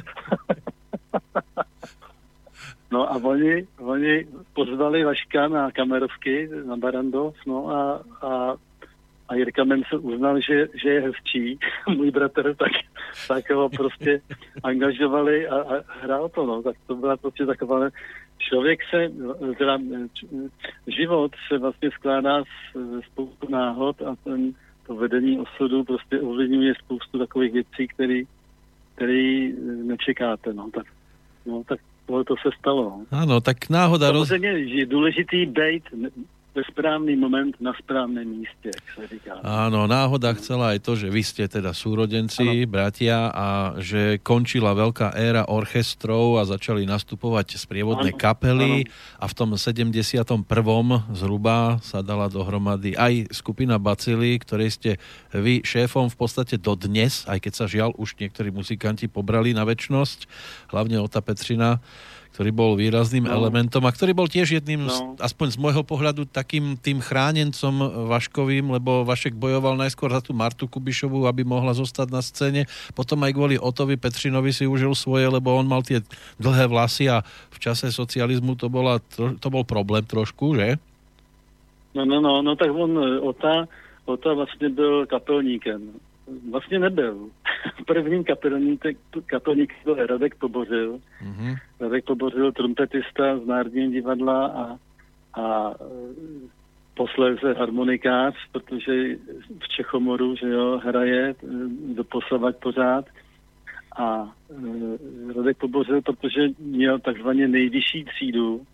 No a oni, oni pozvali Vaška na kamerovky, na Barandov, no a, a, a Jirka Mencel uznal, že, že je hezčí, můj bratr, tak, tak ho prostě angažovali a, a hrál to, no. Tak to byla prostě taková, člověk se, teda, život se vlastně skládá z spoustu náhod a ten to vedení osudu prostě ovlivňuje spoustu takových věcí, který, který nečekáte, no. Tak, no, tak tohle to se stalo. Áno, tak náhoda... Samozřejmě roz... je důležitý bejt ve správny moment na správnom míste, jak sa říká. Áno, náhoda chcela aj to, že vy ste teda súrodenci, ano. bratia a že končila veľká éra orchestrov a začali nastupovať sprievodné ano. kapely ano. a v tom sedemdesiatom prvom zhruba sa dala dohromady aj skupina Bacily, ktorej ste vy šéfom v podstate dodnes, aj keď sa žiaľ už niektorí muzikanti pobrali na večnosť, hlavne Ota Petřina, ktorý bol výrazným no. elementom a ktorý bol tiež jedným, no. z, aspoň z môjho pohľadu, takým tým chránencom Vaškovým, lebo Vašek bojoval najskôr za tú Martu Kubišovú, aby mohla zostať na scéne. Potom aj kvôli Otovi Petřinovi si užil svoje, lebo on mal tie dlhé vlasy a v čase socializmu to, bola, to bol problém trošku, že? No, no, no, no tak on, Ota, Ota vlastně byl kapelníkem. Vlastně nebyl. Prvním kapelníkem kapelník byl Radek Pobořil. Mm-hmm. Radek Pobořil, trumpetista z Národního divadla a, a posléze harmonikář, protože v Čechomoru, že jo, hraje doposavať pořád. A e, Radek Pobořil, protože měl takzvaně nejvyšší třídu,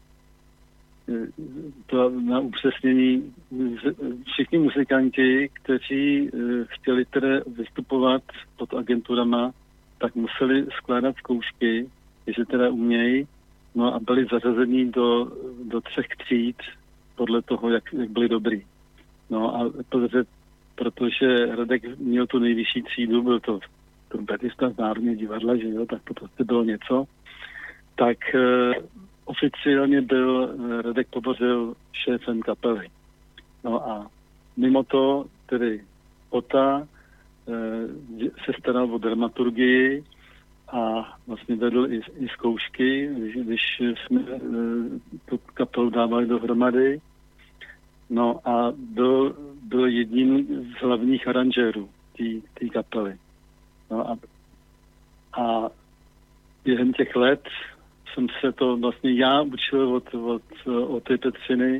to na upřesnění, všichni muzikanti, kteří chtěli tedy vystupovat pod agenturama, tak museli skládat zkoušky, že teda umějí, no a byli zařazení do, do třech tříd podle toho, jak, jak byli dobrý. No a protože, protože Radek měl tu nejvyšší třídu, byl to trumpetista z Národního divadla, že jo, tak to prostě bylo něco, tak oficiálně byl Radek Pobořil šéfem kapely. No a mimo to tedy Ota e, se staral o dramaturgii a vlastně vedl i, i zkoušky, když, když jsme e, tu kapelu dávali dohromady. No a byl, byl jedním z hlavních aranžérů té kapely. No a, a během těch let jsem se to vlastně já učil od, od, od té Petřiny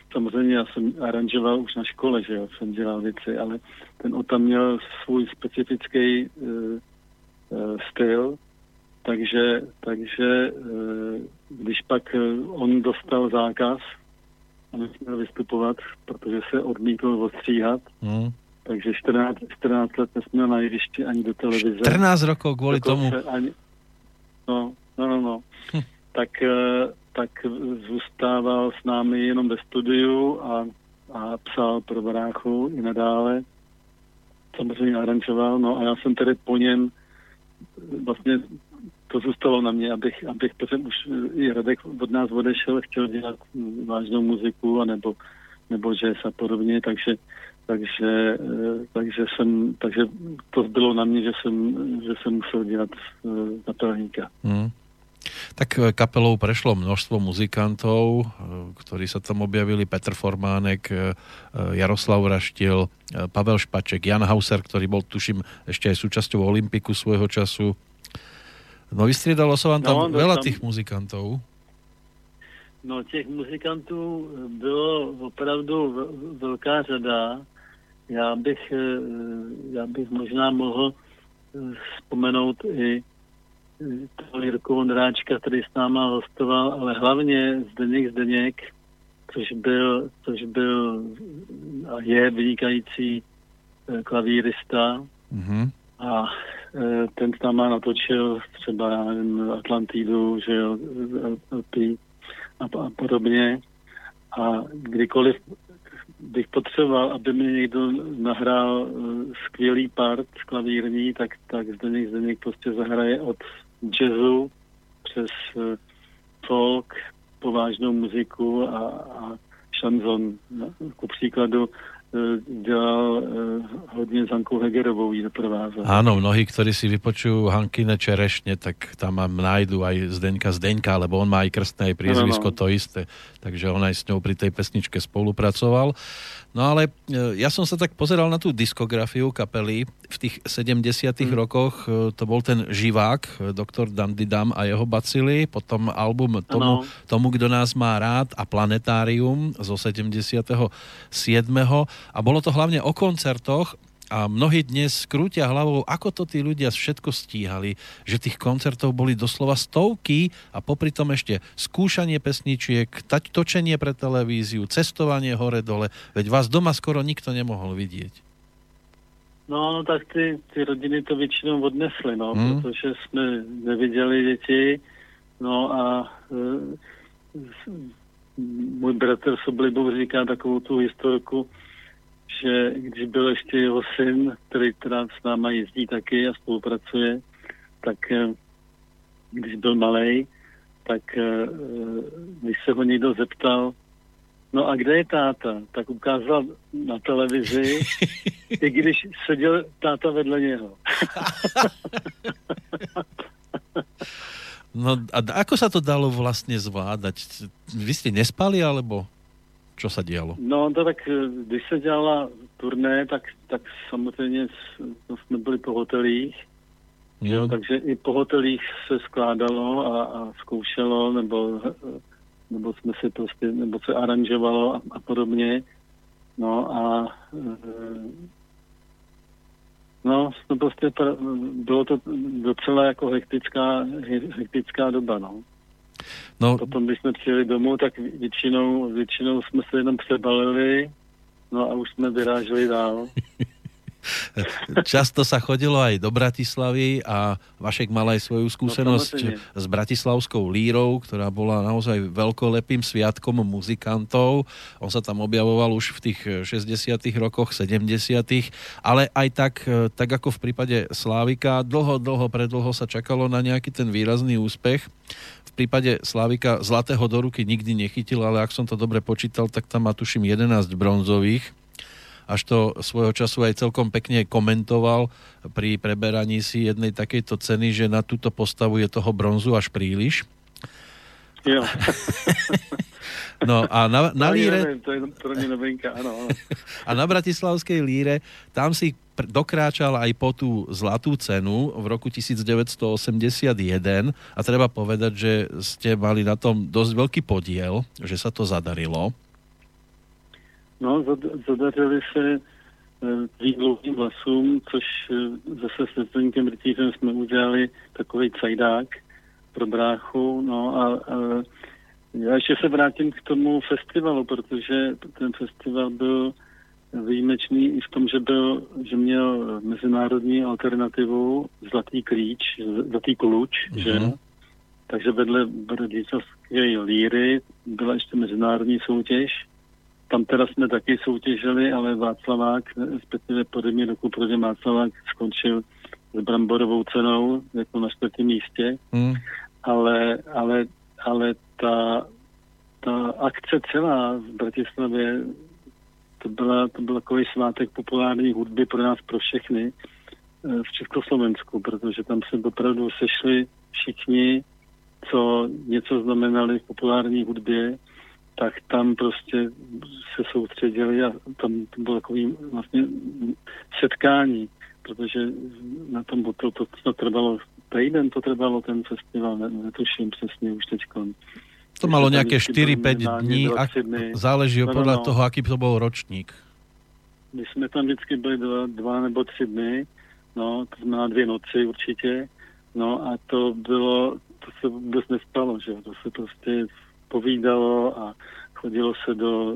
samozřejmě já jsem aranžoval už na škole, že jo, jsem dělal věci, ale ten Ota měl svůj specifický uh, uh, styl, takže, takže uh, když pak uh, on dostal zákaz a nesměl vystupovat, protože se odmítl ostříhat, mm. takže čtrnáct, čtrnáct let nesměl na jevišti ani do televize. čtrnáct rokov kvůli tomu. Ani, no, no, no, no. Hm. Tak, uh, tak zůstával s námi jenom ve studiu a, a psal pro bráchu i nadále. Samozřejmě aranžoval, no a já jsem tedy po něm vlastně to zůstalo na mě, abych, abych protože už i Radek od nás odešel, chtěl dělat vážnou muziku, anebo, nebo jazz a podobně, takže, takže, takže, jsem, takže to bylo na mě, že jsem, že jsem musel dělat kapelníka. Hmm. Tak kapelou prešlo množstvo muzikantov, ktorí sa tam objavili, Petr Formánek, Jaroslav Raštil, Pavel Špaček, Jan Hauser, ktorý bol, tuším, ešte aj súčasťou Olympiku svojho času. No vystriedalo sa vám tam no, veľa tam... tých muzikantov. No těch muzikantů bylo opravdu velká řada. Já bych, já bych možná mohl vzpomenout i toho Jirku Vondráčka, který s náma hostoval, ale hlavně Zdeněk Zdeněk, což byl, což byl a je vynikající klavírista. Mm-hmm. A ten s náma natočil třeba, já nevím, Atlantidu, že jo, a, a podobně. A kdykoliv bych potřeboval, aby mi někdo nahrál skvělý part klavírní, tak, tak Zdeněk Zdeněk prostě zahraje od jazzu přes folk, povážnou muziku a, a šanzon. Ku příkladu dělal hodně s Hankou Hegerovou, jí doprovázel. Áno, mnohí, ktorí si vypočujú Hankine Čerešne, tak tam nájdu aj Zdeňka Zdeňka, lebo on má aj krstné aj priezvisko, no, no. To isté. Takže on aj s ňou pri tej pesničke spolupracoval. No ale ja som sa tak pozeral na tú diskografiu kapely v tých sedemdesiatych mm. rokoch. To bol ten Živák, doktor Dandidam a jeho bacily, potom album Tomu, Tomu, kdo nás má rád a Planetárium zo sedemdesiateho siedmeho A bolo to hlavne o koncertoch a mnohí dnes krútia hlavou, ako to tí ľudia všetko stíhali, že tých koncertov boli doslova stovky a popri tom ešte skúšanie pesničiek, tať točenie pre televíziu, cestovanie hore-dole, veď vás doma skoro nikto nemohol vidieť. No, no tak ty, ty rodiny to většinou odnesly, no, hmm. protože jsme neviděli děti, no a e, můj bratr s oblibou říká takovou tu historku, že když byl ještě jeho syn, který teda s náma jezdí taky a spolupracuje, tak když byl malej, tak když se ho někdo zeptal, no a kde je táta, tak ukázal na televizi, i když seděl táta vedle něho. No a ako sa to dalo vlastne zvládať? Vy ste nespali, alebo čo sa dialo? No to tak, když se dělala turné, tak, tak samozřejmě jsme byli po hotelích, mm. jo, takže i po hotelích se skládalo a, a zkoušelo, nebo, nebo jsme si prostě, nebo se aranžovalo a, a podobně. No a no, to prostě bylo to docela jako hektická, hektická doba, no. No. Potom, když jsme přijeli domů, tak většinou, většinou jsme se jenom přebalili, no a už jsme vyráželi dál. Často sa chodilo aj do Bratislavy a Vašek mal aj svoju skúsenosť no, s bratislavskou lírou, ktorá bola naozaj veľkolepým sviatkom muzikantov. On sa tam objavoval už v tých šesťdesiatych rokoch, sedemdesiatych ale aj tak, tak ako v prípade Slávika, dlho, dlho, predlho sa čakalo na nejaký ten výrazný úspech. V prípade Slávika zlatého do ruky nikdy nechytil, ale ak som to dobre počítal, tak tam má tuším jedenásť bronzových. Až to svojho času aj celkom pekne komentoval pri preberaní si jednej takejto ceny, že na túto postavu je toho bronzu až príliš. Jo. No a na, na líre... To je pro mňa novinka, áno, áno. A na bratislavskej líre, tam si dokráčal aj po tú zlatú cenu v roku devätnásťstoosemdesiatjeden a treba povedať, že ste mali na tom dosť veľký podiel, že sa to zadarilo. No, zadařili se tvým dlouhým vlasům, což zase s Zdeňkem Rytířem jsme udělali takový cajdák pro bráchu. No a, a já ještě se vrátím k tomu festivalu, protože ten festival byl výjimečný i v tom, že byl, že měl mezinárodní alternativu Zlatý klíč, Zlatý kluč, mm-hmm. že? Takže vedle Brdlicovské líry byla ještě mezinárodní soutěž. Tam teda jsme taky soutěžili, ale Václavák, respektive podobně roku proti Václavák skončil s bramborovou cenou, jako na čtvrtém místě. Mm. Ale, ale, ale ta, ta akce celá v Bratislavě, to, byla, to byl takový svátek populární hudby pro nás, pro všechny v Československu, protože tam se opravdu sešli všichni, co něco znamenali v populární hudbě, tak tam prostě se soustředili a tam to bylo takový vlastně setkání, protože na tom to, to, to trvalo, týden to trvalo ten festival, ne, netuším přesně už teďko. To malo nejaké štyri päť dní, ak, záleží no, podľa no, toho, aký to bol ročník. My jsme tam vždycky byli dva, dva nebo tři dny, no, to znamená dvě noci určitě, no a to bylo, to se vůbec nespalo, že to se prostě povídalo a chodilo se do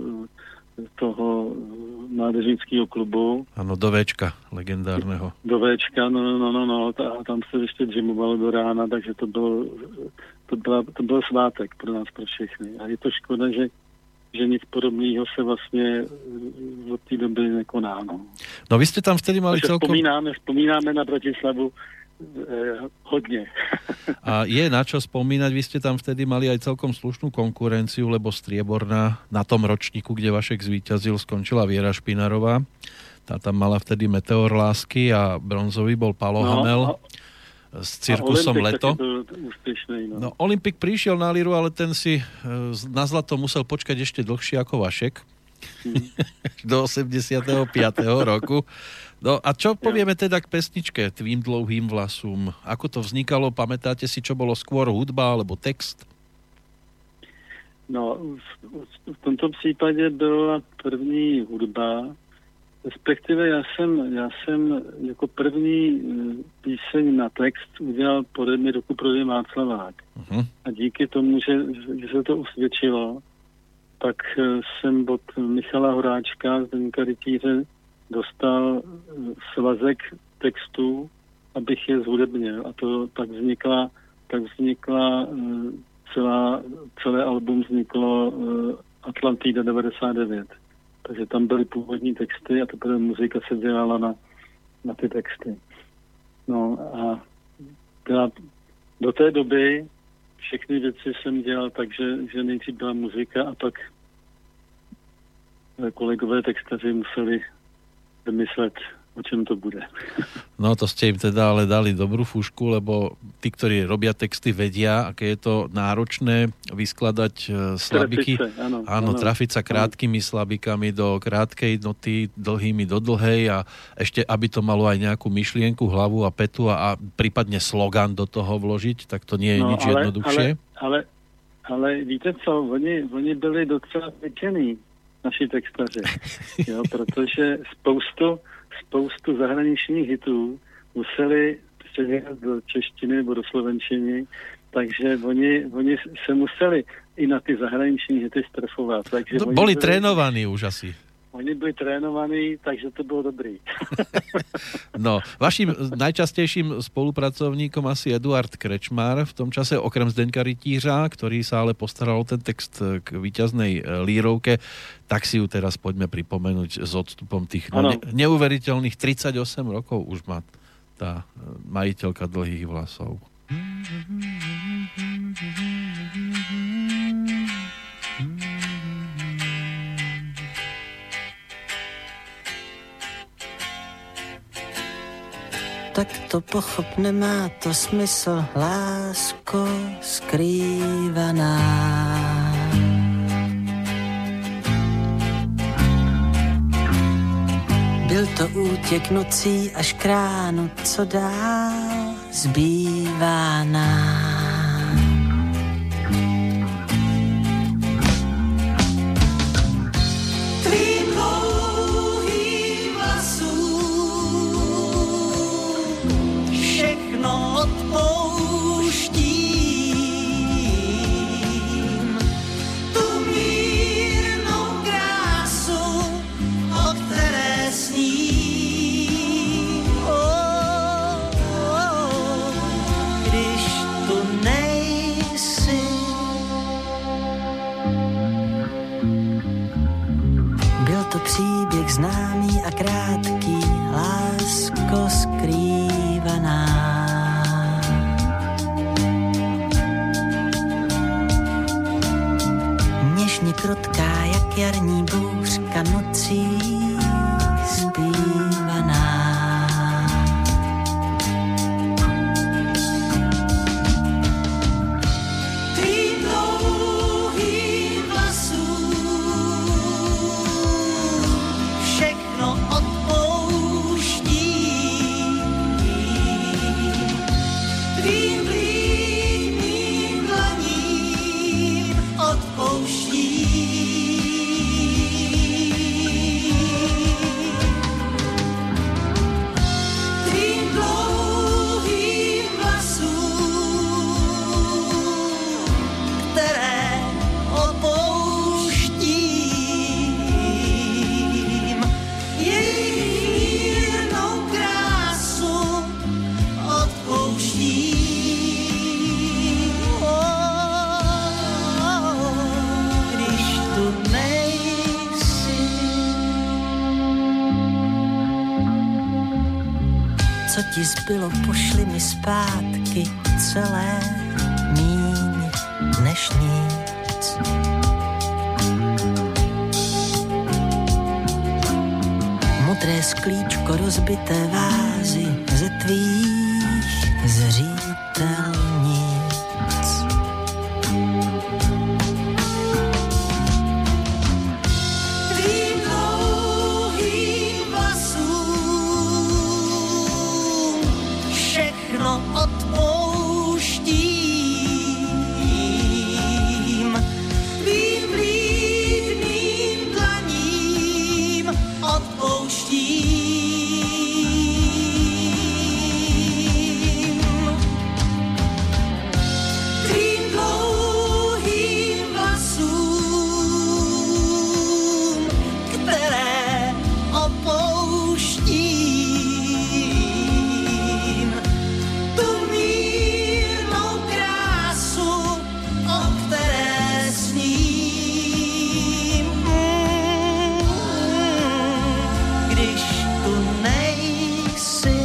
toho mládežnického klubu. Ano, do Véčka, legendárneho. Do Véčka, no, no, no, no, a tam se ještě gymovalo do rána, takže to bylo, to, byla, to byl svátek pro nás, pro všechny. A je to škoda, že, že nic podobného se vlastně od té doby nekoná. No, no vy jste tam vtedy mali takže celkom... Vzpomínáme, vzpomínáme na Bratislavu Eh, hodne. A je na čo spomínať, vy ste tam vtedy mali aj celkom slušnú konkurenciu, lebo strieborná na tom ročníku, kde Vašek zvíťazil, skončila Viera Špinarová. Tá tam mala vtedy Meteor lásky a bronzový bol Palo no, Hamel a, s cirkusom Leto. Úspešný, no. No, Olympik prišiel na líru, ale ten si na zlato musel počkať ešte dlhšie ako Vašek. Hmm. Do osemdesiateho piateho roku. No a čo povieme teda k pesničke Tvým dlouhým vlasům? Ako to vznikalo? Pamätáte si, čo bolo skôr hudba alebo text? No, v, v tomto případě byla první hudba, respektive já jsem, já jsem jako první píseň na text udělal pode mě roku proti Václavák. Uh-huh. A díky tomu, že, že se to usvědčilo, tak jsem od Michala Horáčka, Zdeňka Rytíře, dostal svazek textů, abych je zhudebnil. A to tak vznikla, tak vznikla celá, celé album vzniklo Atlantida devadesát devět. Takže tam byly původní texty a teprve muzika se dělala na, na ty texty. No a byla, do té doby všechny věci jsem dělal tak, že, že nejdřív byla muzika a pak kolegové textaři museli vymyslet, o čem to bude. No to ste im teda ale dali dobrú fúšku, lebo tí, ktorí robia texty, vedia, aké je to náročné vyskladať slabiky. Trafice, áno, áno, áno, trafiť sa krátkými slabikami do krátkej noty, dlhými do dlhej a ešte, aby to malo aj nejakú myšlienku, hlavu a petu a, a prípadne slogan do toho vložiť, tak to nie je no, nič ale, jednoduchšie. Ale, ale, ale víte co, oni, oni byli docela pečení, naši textaři, jo, protože spoustu, spoustu zahraničních hitů museli předělat do češtiny nebo do slovenčiny, takže oni, oni se museli i na ty zahraniční hity strefovat. Takže no, boli byli, trénovaní už asi. Oni byli trénovaní, takže to bylo dobrý. No, vaším najčastejším spolupracovníkom asi Eduard Krečmar, v tom čase okrem Zdeňka Rytířa, ktorý sa ale postaral o ten text k víťaznej lírovke, tak si ju teraz poďme pripomenúť s odstupom tých no, ne- neuveriteľných tridsaťosem rokov už má tá majiteľka dlhých vlasov. Tak to pochop, nemá to smysl, lásko skrývaná. Byl to útěk nocí až k ránu, co dál zbývá nám. Tvým odpouštím tu mírnou krásu, o které sním. Oh, oh, když tu nejsi. Byl to příběh známý a krátký, lásko skrývaná. Něžně krotká, jak jarní bouřka nocí zpívaná. Tvým dlouhým vlasům všechno odpouštím. Tvým blídným dlaním odpouštím. Tvým dlouhým vlasům, které opouštím, jejich mírnou krásu odpouštím. Oh, když tu nejsi. Co ti zbylo, pošli mi zpátky celé, míň než nic. Modré sklíčko, rozbité vázy ze tvých zřítelnic. Tvým dlouhým vlasům všechno odpouštím. Tvým blídným dlaním odpouštím. Tvým dlouhým vlasům, které opouštím, tu mírnou krásu, o které sním. Když tu nejsi.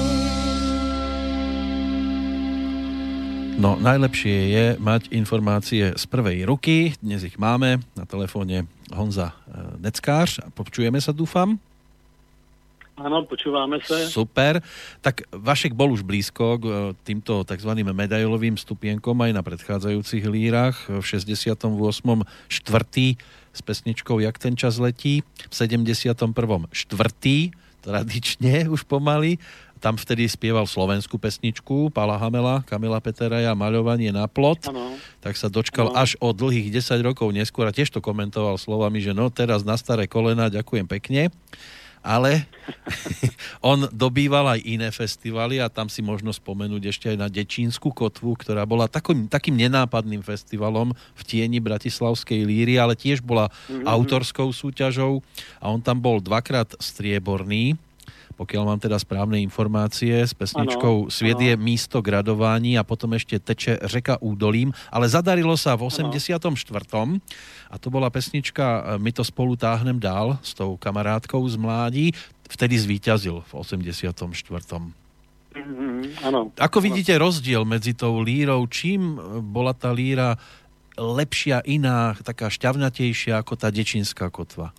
No, najlepšie je mať informácie z prvej ruky. Dnes ich máme. Na telefóne Honza e, Neckář. Počujeme sa, dúfam? Áno, počúvame sa. Super. Tak Vašek bol už blízko k e, týmto takzvaným medailovým stupienkom aj na predchádzajúcich lírach. V šesťdesiatom ôsmom štvrtý s pesničkou Jak ten čas letí. V sedemdesiatom prvom štvrtý tradične už pomaly. Tam vtedy spieval slovenskú pesničku Pála Hamela, Kamila Peteraja, Maľovanie na plot. Ano. Tak sa dočkal Ano. až o dlhých desať rokov neskôr a tiež to komentoval slovami, že no teraz na staré kolena, ďakujem pekne. Ale on dobýval aj iné festivaly a tam si možno spomenúť ešte aj na Dečínsku kotvu, ktorá bola takým, takým nenápadným festivalom v tieni bratislavskej líry, ale tiež bola mm-hmm. autorskou súťažou a on tam bol dvakrát strieborný, pokiaľ mám teda správne informácie, s pesničkou ano, Sviet ano. Je místo gradování a potom ešte Teče řeka údolím, ale zadarilo sa v osemdesiatom štvrtom a to bola pesnička My to spolu táhnem dál s tou kamarátkou z mládí, vtedy zvíťazil v osemdesiatom štvrtom Mm-hmm, áno. Ako vidíte rozdiel medzi tou lírou? Čím bola tá líra lepšia, iná, taká šťavnatejšia ako tá Dečínska kotva?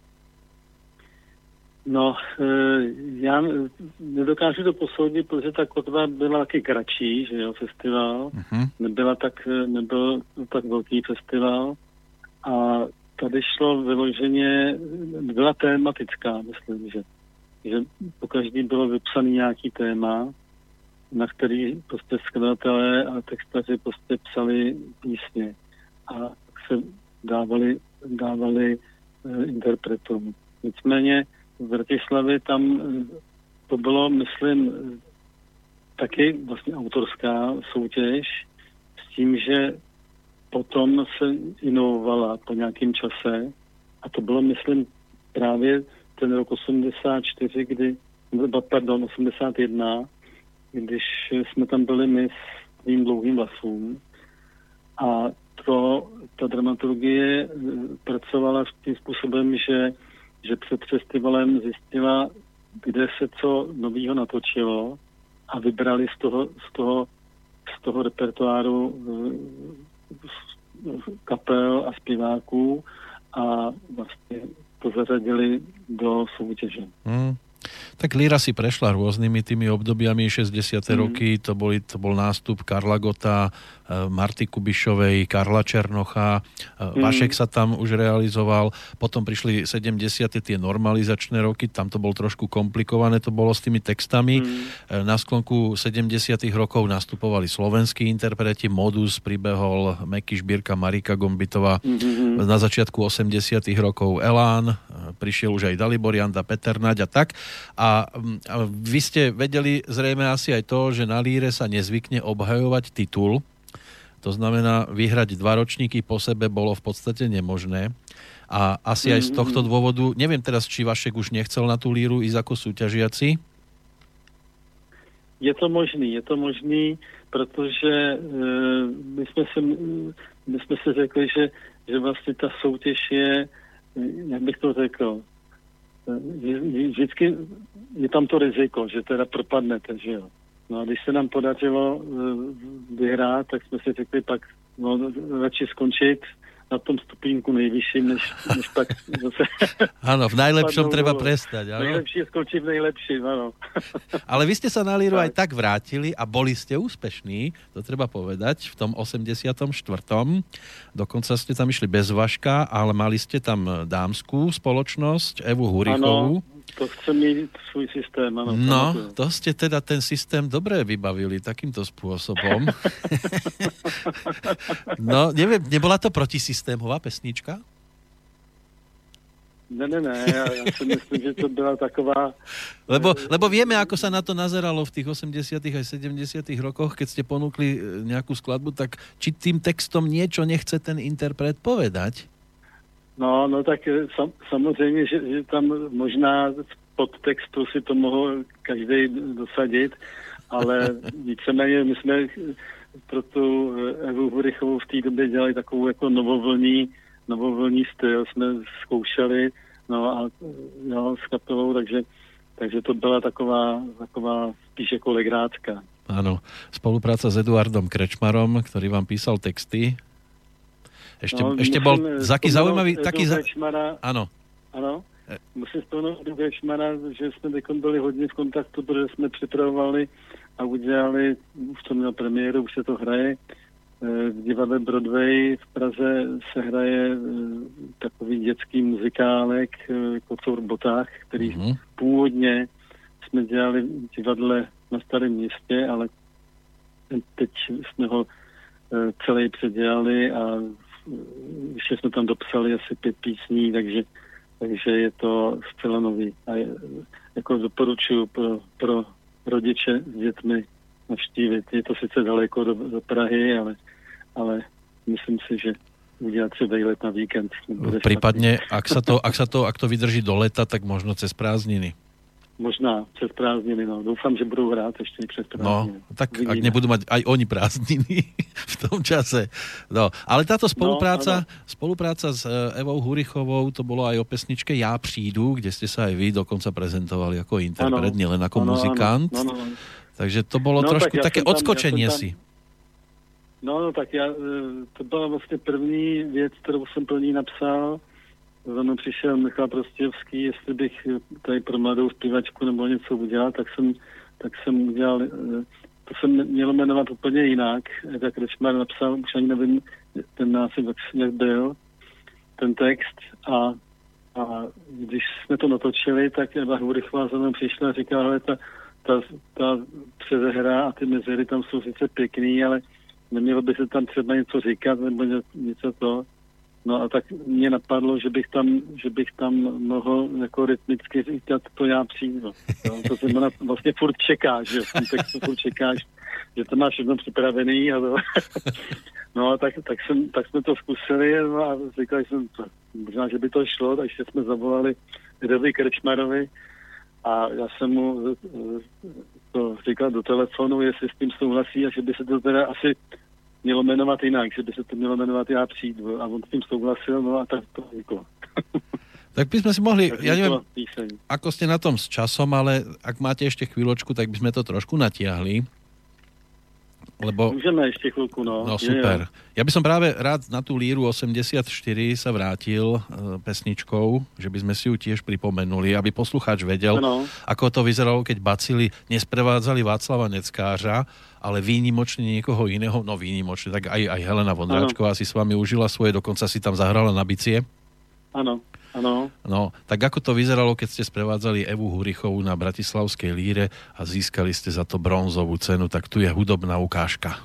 No, já nedokážu to posoudit, protože ta kotva byla taky kratší, že jo, festival. Uh-huh. Nebyla tak, nebyl tak velký festival. A tady šlo vyloženě, byla tématická, myslím, že, že po každý bylo vypsaný nějaký téma, na který prostě skladatelé a textaři prostě psali písně. A se dávali, dávali uh, interpretům. Nicméně v Bratislavě tam to bylo, myslím, taky vlastně autorská soutěž s tím, že potom se inovovala po nějakém čase a to bylo, myslím, právě ten rok osmdesát čtyři, kdy, pardon, osmdesát jedna, když jsme tam byli my s tvým dlouhým vlasům a to, ta dramaturgie pracovala tím způsobem, že, že před festivalem zjistila, kde se co novýho natočilo a vybrali z toho, z toho, z toho repertoáru kapel a zpěváků a vlastně to zařadili do soutěže. Hmm. Tak Líra si prešla rôznymi tými obdobiami, šesťdesiate mm. roky, to, boli, to bol nástup Karla Gotta, Marty Kubišovej, Karla Černocha, mm. Vašek sa tam už realizoval, potom prišli sedemdesiate tie normalizačné roky, tam to bolo trošku komplikované, to bolo s tými textami. Mm. Na sklonku sedemdesiatych rokov nastupovali slovenskí interpreti, Modus pribehol, Meky Šbírka, Marika Gombitová, mm-hmm. na začiatku osemdesiatych rokov Elán, prišiel už aj Dalibor Janda, Peter Naď a tak. A, a vy ste vedeli zrejme asi aj to, že na líre sa nezvykne obhajovať titul. To znamená, vyhrať dva ročníky po sebe bolo v podstate nemožné. A asi aj z tohto dôvodu, neviem teraz, či Vašek už nechcel na tú líru ísť ako súťažiaci? Je to možný, je to možný, protože e, my jsme si, my jsme si řekli, že, že vlastně ta soutěž je, jak bych to řekl, vždycky je tam to riziko, že teda propadnete, že jo. No a když se nám podařilo vyhrát, tak jsme si řekli pak, no radši skončit na tom stupínku nejvyšším, než, než pak zase... Áno, v najlepšom treba prestať. Áno. Najlepšie skončí v najlepším, áno. Ale vy ste sa na líru tak. aj tak vrátili a boli ste úspešní, to treba povedať, v tom osemdesiatom štvrtom Dokonca ste tam išli bez Vaška, ale mali ste tam dámskú spoločnosť, Evu Hurichovú. Áno. To chce mít svůj systém, ano. No, to ste teda ten systém dobre vybavili takýmto spôsobom. No, neviem, nebola to protisystémová pesnička? Ne, ne, ne, ja, ja si myslím, že to byla taková... Lebo, lebo vieme, ako sa na to nazeralo v tých osemdesiatych aj sedemdesiatych rokoch, keď ste ponúkli nejakú skladbu, tak či tým textom niečo nechce ten interpret povedať? No, no tak sam, samozřejmě, že, že tam možná v podtextu si to mohl každý dosadit, ale víceméně my jsme pro tu Evu Hurichovou v té době dělali takovou jako novovlní, novovlní styl, jsme zkoušeli, no a jo, s kapelou, takže, takže to byla taková, taková spíš jako legrácka. Áno, spolupráca s Eduardom Krečmarom, ktorý vám písal texty. Ešte, no, ešte bol taký zaujímavý... Taký za... Áno. Áno. Musím spomenout Edu Krečmara, že jsme teď byli hodně v kontaktu, protože jsme připravovali a udělali, už to mělo premiéru, už se to hraje, v divadle Broadway v Praze se hraje takový dětský muzikálek Kocour v botách, který mm-hmm. původně jsme dělali v divadle na Starém městě, ale teď jsme ho celý předělali a ještě jsme tam dopsali asi pět písní, takže, takže je to zcela nový. A je, jako doporučuji pro, pro rodiče s dětmi navštívit. Je to sice daleko do, do Prahy, ale, ale myslím si, že udělat si vejlet na víkend. Prípadne, ak sa, to, ak sa to, ak to vydrží do leta, tak možno cez prázdniny. Možná přes prázdniny, no. Doufám, že budou hrát ještě přes prázdniny. No, tak Vidíme. Ak nebudú mať aj oni prázdniny v tom čase. No, ale táto spolupráca, no, spolupráca s Evou Hurichovou, to bolo aj o pesničke Ja prídu, kde ste sa aj vy dokonca prezentovali ako interpret, nielen ako ano, muzikant. Ano, ano, ano. Takže to bolo no, trošku tak také odskočenie tam, ja si. No, no, tak já, to byla vlastně první věc, kterou jsem pro ní napsal. Za mnou přišel Michal Prostějovský, jestli bych tady pro mladou zpěvačku nebo něco udělal, tak jsem, tak jsem udělal, to jsem měl jmenovat úplně jinak. Eda Krečmar napsal, už ani nevím, ten název, jak byl, ten text a, a když jsme to natočili, tak Eva Hurichová za mnou přišla a říkala, hele, ta, ta, ta předehra a ty mezery tam jsou sice pěkný, ale nemělo by se tam třeba něco říkat nebo něco to. No a tak mě napadlo, že bych tam, že bych tam mohl jako rytmicky říkat to já přijdu. No, to znamená, vlastně furt čekáš, že v tom textu furt čekáš, že to máš všechno připravený a to. No a tak, tak, jsem, tak jsme to zkusili no a říkali jsem, to, možná, že by to šlo, takže jsme zavolali Edovi Krčmarovi a já jsem mu to říkal do telefonu, jestli s tím souhlasí a že by se to teda asi mělo jmenovat jinak, že by se to mělo jmenovat Já přijdu. A on s tým souhlasil, no a tak to vzniklo. Tak by sme si mohli, tak ja neviem, píseň. ako ste na tom s časom, ale ak máte ešte chvíľočku, tak by sme to trošku natiahli. Lebo... Môžeme ešte chvíľku, no. No super. Je, ja by som práve rád na tú líru osemdesiatštyri sa vrátil e, pesničkou, že by sme si ju tiež pripomenuli, aby poslucháč vedel, no. Ako to vyzeralo, keď bacili nesprevádzali Václava Neckářa, ale výnimočne niekoho iného, no výnimočne, tak aj, aj Helena Vondráčková si s vami užila svoje, dokonca si tam zahrala na bicie. Áno, áno. No, tak ako to vyzeralo, keď ste sprevádzali Evu Hurichovú na bratislavskej líre a získali ste za to bronzovú cenu, tak tu je hudobná ukážka.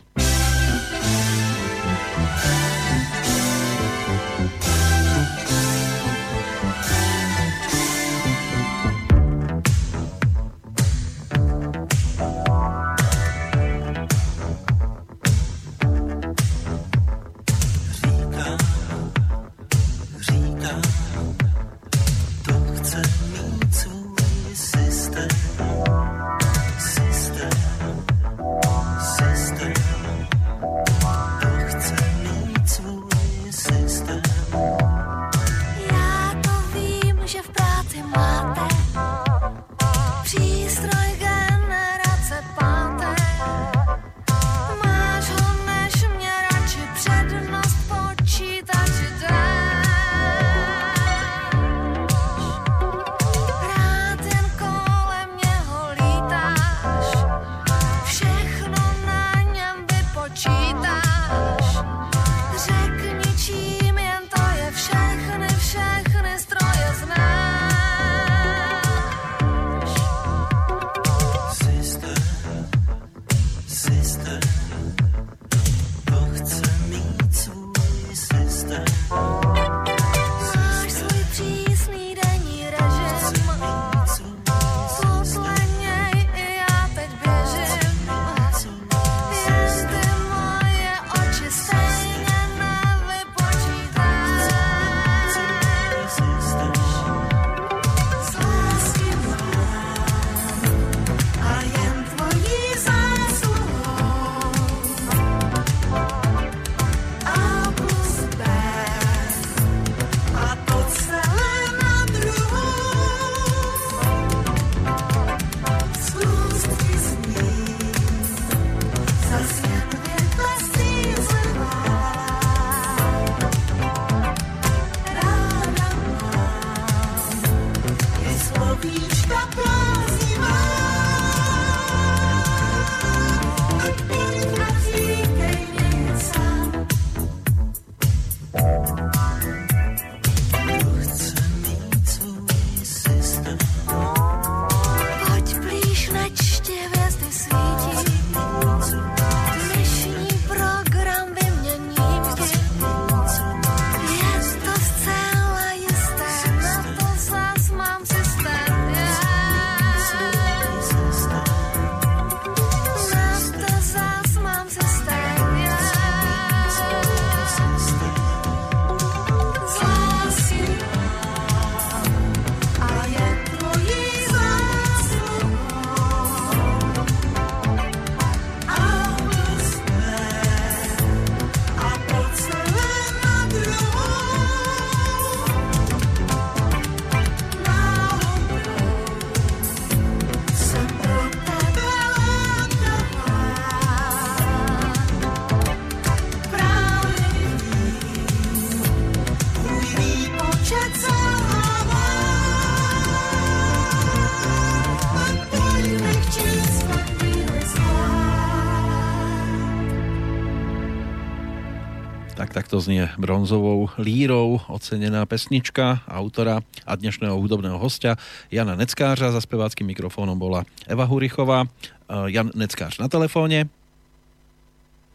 Takto znie bronzovou lírou ocenená pesnička autora a dnešného hudobného hostia Jana Neckářa. Za speváckým mikrofónom bola Eva Hurichová. Jan Neckář na telefóne.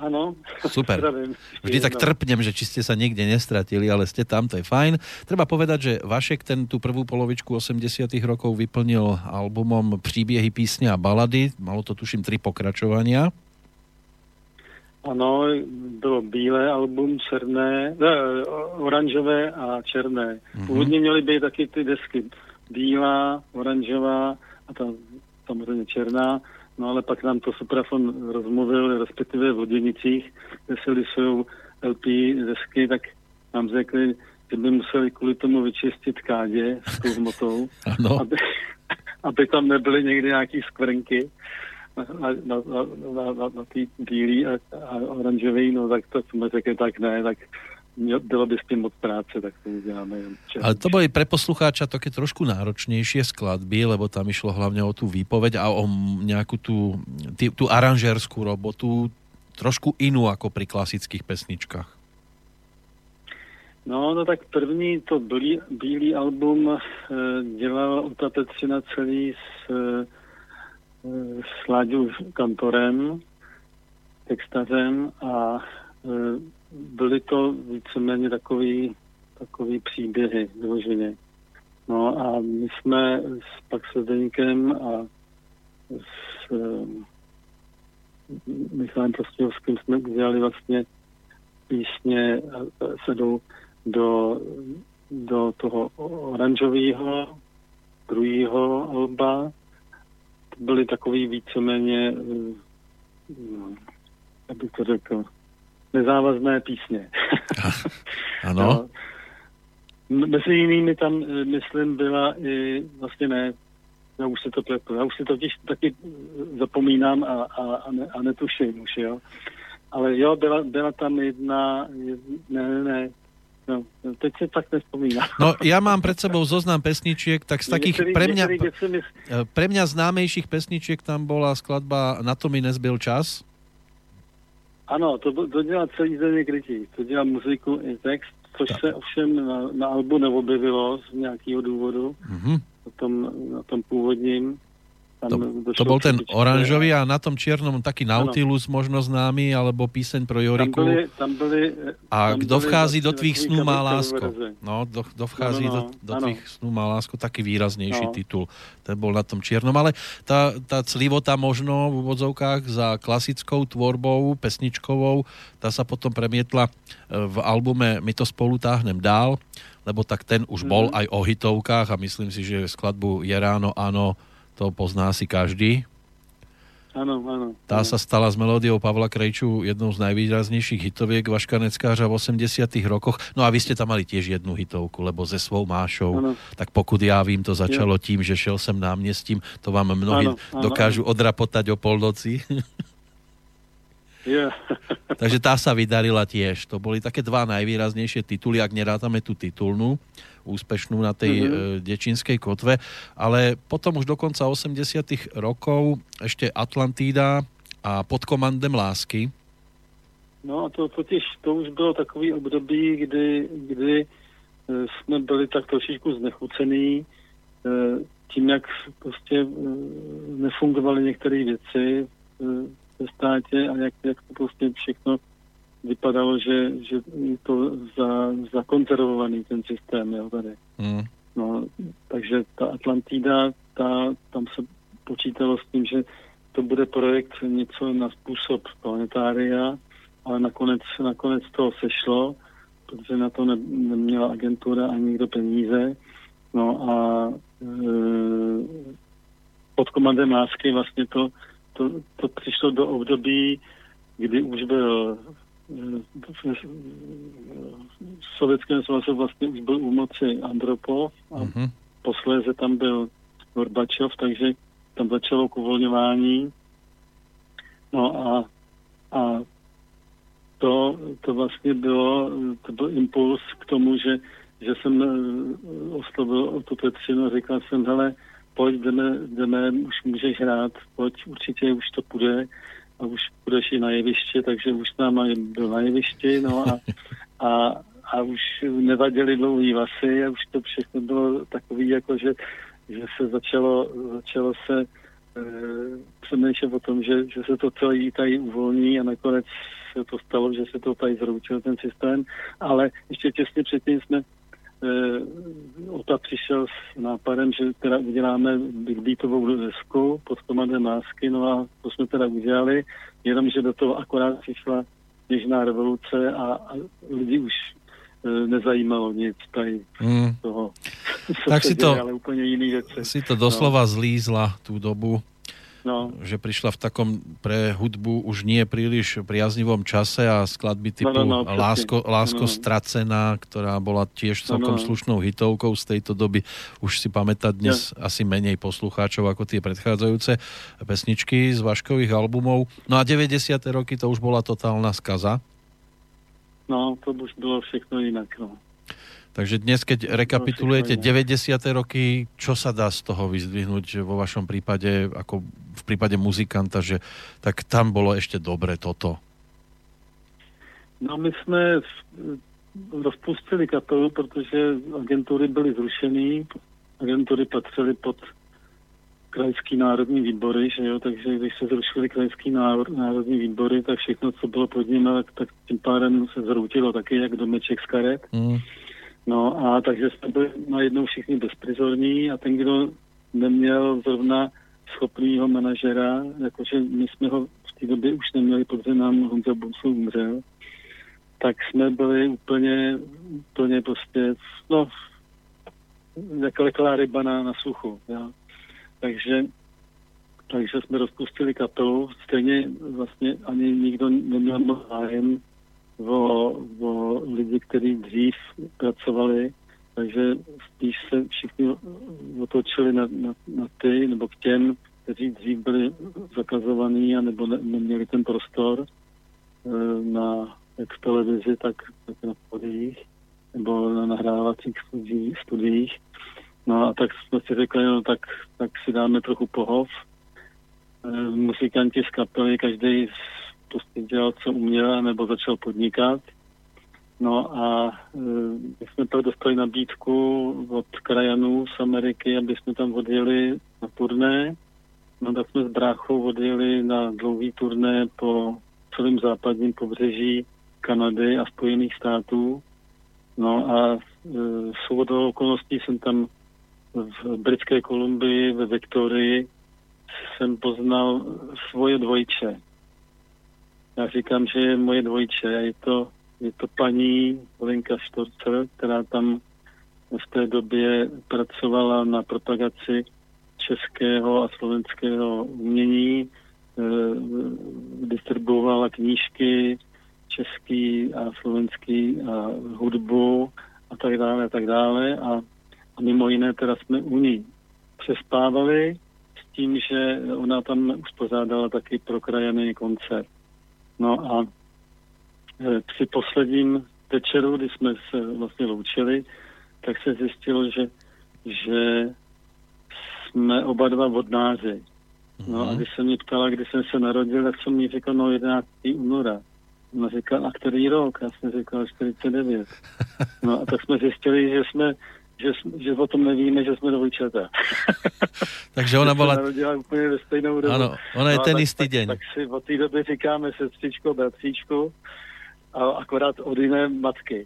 Áno. Super. Vždy tak trpnem, že či ste sa niekde nestratili, ale ste tam, to je fajn. Treba povedať, že Vašek ten tú prvú polovičku osemdesiatych rokov vyplnil albumom Příběhy, písne a balady. Malo to tuším tri pokračovania. Ano, bylo bílé album, černé, ne, oranžové a černé. Mm-hmm. Původně měly být taky ty desky bílá, oranžová a ta samozřejmě černá. No ale pak nám to Suprafon rozmluvil, respektive v Loděnicích, kde se lisují el pé desky, tak nám řekli, že by museli kvůli tomu vyčistit kádě s tou hmotou, aby, aby tam nebyly někdy nějaký skvrnky na, na, na, na, na, na tý bílý a, a oranžový, no tak to jsme řekli, tak ne, tak bylo by s tým moc práce, tak to uděláme. Ale to boli pre poslucháča také trošku náročnejšie skladby, lebo tam išlo hlavne o tú výpoveď a o nejakú tú, tý, tú aranžérskú robotu, trošku inú ako pri klasických pesničkách. No, no tak první to bílý, bílý album e, dělal Uta Petřina celý s, e, s Láďou Kantorem, textařem a e, byly to víceméně takový, takový příběhy vyloženě. No a my jsme s, pak se Zdeňkem a s um, Michalem Prostějovským jsme udělali vlastně písně sedou do, do toho oranžového druhého alba. Byly takový víceméně, um, jak bych to řekl, nezávazné písně. Ano. No, mezi jinými tam, myslím, byla i, vlastně ne, já už si to pletu, já už si to těž taky zapomínám a, a, a, ne, a netuším už, jo. Ale jo, byla, byla tam jedna, jedna ne, ne, ne, no, teď si tak nespomínám. No, ja mám pred sebou zoznam pesničiek, tak z takých niektorý, pre mňa, niektorý, pre mňa známejších pesničiek tam bola skladba Na to mi nezbyl čas. Ano, to, to dělá celý Zdeněk Rytíř, to dělá muziku i text, což tak se ovšem na, na albu neobjevilo z nějakého důvodu, mm-hmm. na, tom, na tom původním. To, to bol ten oranžový a na tom čiernom taký Nautilus ano. možno známy, alebo píseň pro Joriku. Tam byli, tam byli, a tam kdo vchází do tvých snů má lásko. No, kdo, kdo vchází no, no, no. do, do tvých snů má lásko, taký výraznejší no. titul. Ten bol na tom čiernom, ale tá, tá clivota možno v úvodzovkách za klasickou tvorbou, pesničkovou, tá sa potom premietla v albume My to spolu táhnem dál, lebo tak ten už bol mm. aj o hitovkách a myslím si, že skladbu Je ráno, áno, to pozná si každý. Áno, áno. Tá sa stala s melódiou Pavla Krejču jednou z najvýraznejších hitoviek Vaška Neckářa v osemdesiatych rokoch. No a vy ste tam mali tiež jednu hitovku, lebo se svou Mášou. Ano. Tak pokud já vím, to začalo jo. tím, že šel jsem náměstím. To vám mnohí ano, ano, dokážu ano. odrapotať o polnoci. Yeah. Takže tá sa vydarila tiež. To boli také dva najvýraznejšie tituly, ak nerátame tú titulnú, úspešnú na tej mm-hmm. e, Dečínskej kotve. Ale potom už do konca osemdesiatych rokov ešte Atlantída a Pod komandem lásky. No a to totiž, to už bylo takový období, kdy, kdy jsme byli tak trošičku znechucený tím, jak prostě nefungovaly některé věci ve státě a jak, jak to prostě všechno vypadalo, že, že je to za, zakonzervovaný ten systém, jo, tady. Mm. No, takže ta Atlantída, ta, tam se počítalo s tím, že to bude projekt něco na způsob planetária, ale nakonec, nakonec to sešlo, protože na to ne, neměla agentura ani nikdo peníze. No a e, Pod komandem lásky vlastně to, to, to přišlo do období, kdy už byl v Sovětském svazu vlastně už byl u moci Andropov a mm-hmm. posléze tam byl Gorbačov, takže tam začalo uvolňování. No a, a to, to vlastně bylo, to byl impuls k tomu, že, že jsem oslovil o tu Petřinu a říkal jsem, hele, pojď, jdeme, jdeme, už můžeš hrát, pojď, určitě už to půjde a už budeš i na jeviště, takže už tam byl na jevišti, no a, a, a už nevadily dlouhý vlasy a už to všechno bylo takový, jako že, že se začalo, začalo se e, přemýšlet o tom, že, že se to celé tady uvolní a nakonec se to stalo, že se to tady zroučil ten systém, ale ještě těsně předtím jsme uh, Ota přišel s nápadem, že teda uděláme big beatovou desku pod komadem Lásky, no a to jsme teda udělali, jenomže do toho akorát přišla Něžná revoluce a, a lidi už uh, nezajímalo nic tady mm. toho. Tak si to, ale úplně jiný věci. Si to doslova no. zlízla tú dobu. No. Že prišla v takom pre hudbu už nie príliš priaznivom čase a skladby typu no, no, no, Lásko, Lásko no. stracená, ktorá bola tiež celkom no, no. slušnou hitovkou z tejto doby, už si pamätá dnes ja. asi menej poslucháčov ako tie predchádzajúce pesničky z Vaškových albumov. No a deväťdesiate roky to už bola totálna skaza. No, to už bylo všechno inak, no. Takže dnes, keď rekapitulujete deväťdesiate roky, čo sa dá z toho vyzdvihnúť vo vašom prípade, ako v prípade muzikanta, že tak tam bolo ešte dobre toto? No my jsme rozpustili kapelu, protože agentury byly zrušený, agentury patřily pod krajský národní výbory, že jo, takže když se zrušili krajský národní výbory, tak všechno, co bylo pod nimi, tak, tak tím pádem se zroutilo taky, jak domeček z karet. Mm. No a takže jsme byli najednou všichni bezprizorní a ten, kdo neměl zrovna schopnýho manažera, jakože my jsme ho v té době už neměli, protože nám Honza Bousou umřel, tak jsme byli úplně, úplně prostě, no, jako leklá ryba na, na suchu, ja. Takže, takže jsme rozpustili kapelu, stejně vlastně ani nikdo neměl moc zájem o, o lidi, kteří dřív pracovali, takže spíš se všichni otočili na, na, na ty, nebo k těm, kteří dřív byli zakazovaní a nebo ne, neměli ten prostor e, na jak v televizi, tak, tak na studiích, nebo na nahrávacích studiích, studiích. No a tak jsme si řekli, no tak, tak si dáme trochu pohov. E, muzikanti z kapely, každý prostě dělal, co uměl, nebo začal podnikat. No a e, my jsme pak dostali nabídku od krajanů z Ameriky, aby jsme tam odjeli na turné. No tak jsme s bráchou odjeli na dlouhý turné po celém západním pobřeží Kanady a Spojených států. No a e, shodou okolností jsem tam v Britské Kolumbii, ve Viktorii, jsem poznal svoje dvojče. Já říkám, že je moje dvojče. Je to, je to paní Lenka Štorcer, která tam v té době pracovala na propagaci českého a slovenského umění, e, distribuovala knížky český a slovenský a hudbu a tak dále a tak dále. A, a mimo jiné teda jsme u ní přespávali s tím, že ona tam uspořádala taky pro krajany koncert. No a e, při posledním večeru, kdy jsme se vlastně loučili, tak se zjistilo, že, že jsme oba dva vodnáři. No a když se mě ptala, kdy jsem se narodil, tak jsem mi říkal, no jedenáctého února. Ona říkala, a který rok? Já jsem říkal čtyřicet devět. No a tak jsme zjistili, že jsme Že, že o tom nevíme, že jsme dvojčata. Takže ona bola... narodila úplně ve stejnou dobu. Áno, ona je no, ten tak, istý tak, deň. Tak si od té doby říkáme sestřičko, bratříčku a akorát od jiné matky.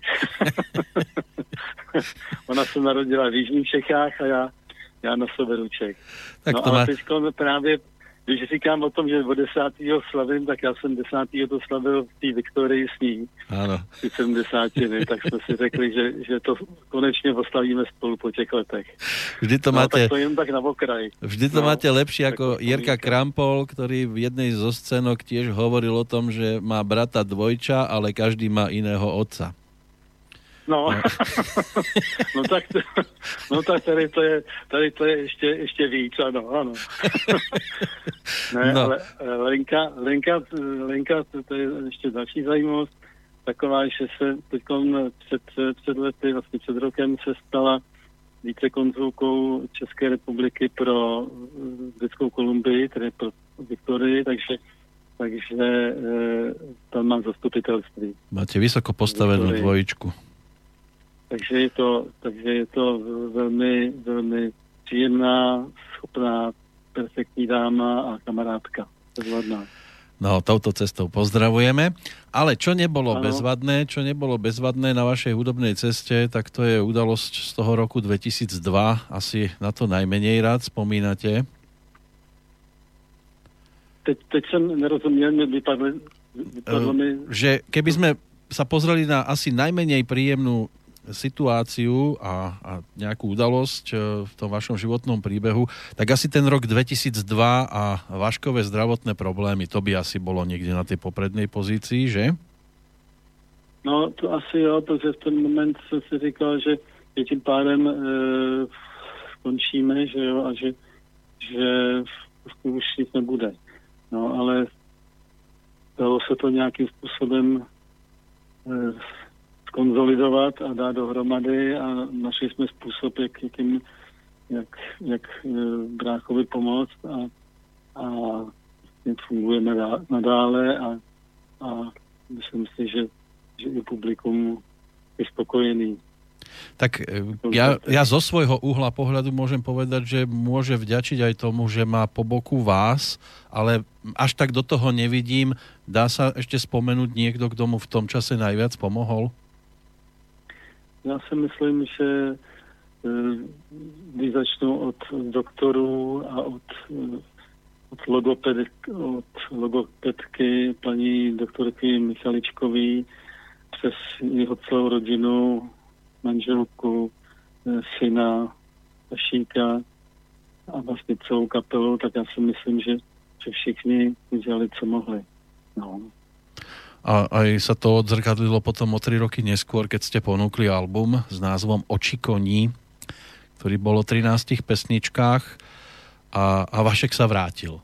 Ona se narodila v jižních Čechách a já, já na severu Čech. Tak no to a má... teďko právě, když říkám o tom, že od desátého slavím, tak já jsem desátého to slavil v té Viktorii s ní. Áno. Ty sedmdesátiny, tak jsme si řekli, že, že to konečně oslavíme spolu po těch letech. Vždy to no, máte... tak to jen tak na okraj. Vždy to no, máte lepšie ako Jirka Krampol, ktorý v jednej zo scénok tiež hovoril o tom, že má brata dvojča, ale každý má iného otca. No, no. no tak to, no tak tady to je, tady to je ještě, ještě víc, ano, ano. Ne, no. Ale Lenka, Lenka, Lenka, to, to je ještě další zajímavost, taková, že se teď před, před lety, vlastně před rokem se stala vícekonzulkou České republiky pro Britskou Kolumbii, tedy pro Viktorii, takže takže e, tam mám zastupitelství. Máte vysoko postavenú dvojičku. Takže je to, takže je to velmi, velmi příjemná, schopná, perfektní dáma a kamarádka. Zvladná. No, touto cestou pozdravujeme. Ale čo nebolo ano. bezvadné, čo nebolo bezvadné na vašej hudobnej ceste, tak to je udalosť z toho roku dvetisícdva. Asi na to najmenej rád spomínate. Teď, teď som nerozumiel, vypadlo, vypadlo mi... Že keby sme sa pozreli na asi najmenej príjemnú situáciu a, a nejakú udalosť v tom vašom životnom príbehu, tak asi ten rok dvetisícdva a váškové zdravotné problémy, to by asi bolo niekde na tej poprednej pozícii, že? No, to asi jo, protože v ten moment som si říkal, že, že tím pádem e, skončíme, že jo, a že, že už nic nebude. No, ale dalo se to nějakým způsobem e, konzolidovat a dát dohromady a našli jsme způsob, jak, jakým, jak, jak e, bráchovi pomoct a, a fungujeme nadále a, a myslím si, že, že i publikum je spokojený. Tak ja, ja zo svojho uhla pohľadu môžem povedať, že môže vďačiť aj tomu, že má po boku vás, ale až tak do toho nevidím. Dá sa ešte spomenúť niekto, kto mu v tom čase najviac pomohol? Já si myslím, že když začnu od doktorů a od, od, logoped, od logopedky paní doktorky Michaličkový přes jeho celou rodinu, manželku, syna, Šíka a vlastně celou kapelu, tak já si myslím, že, že všichni udělali, co mohli. No. A aj sa to odzrkadlilo potom o tri roky neskôr, keď ste ponúkli album s názvom Oči koní, ktorý bol o trinástich pesničkách a, a Vašek sa vrátil.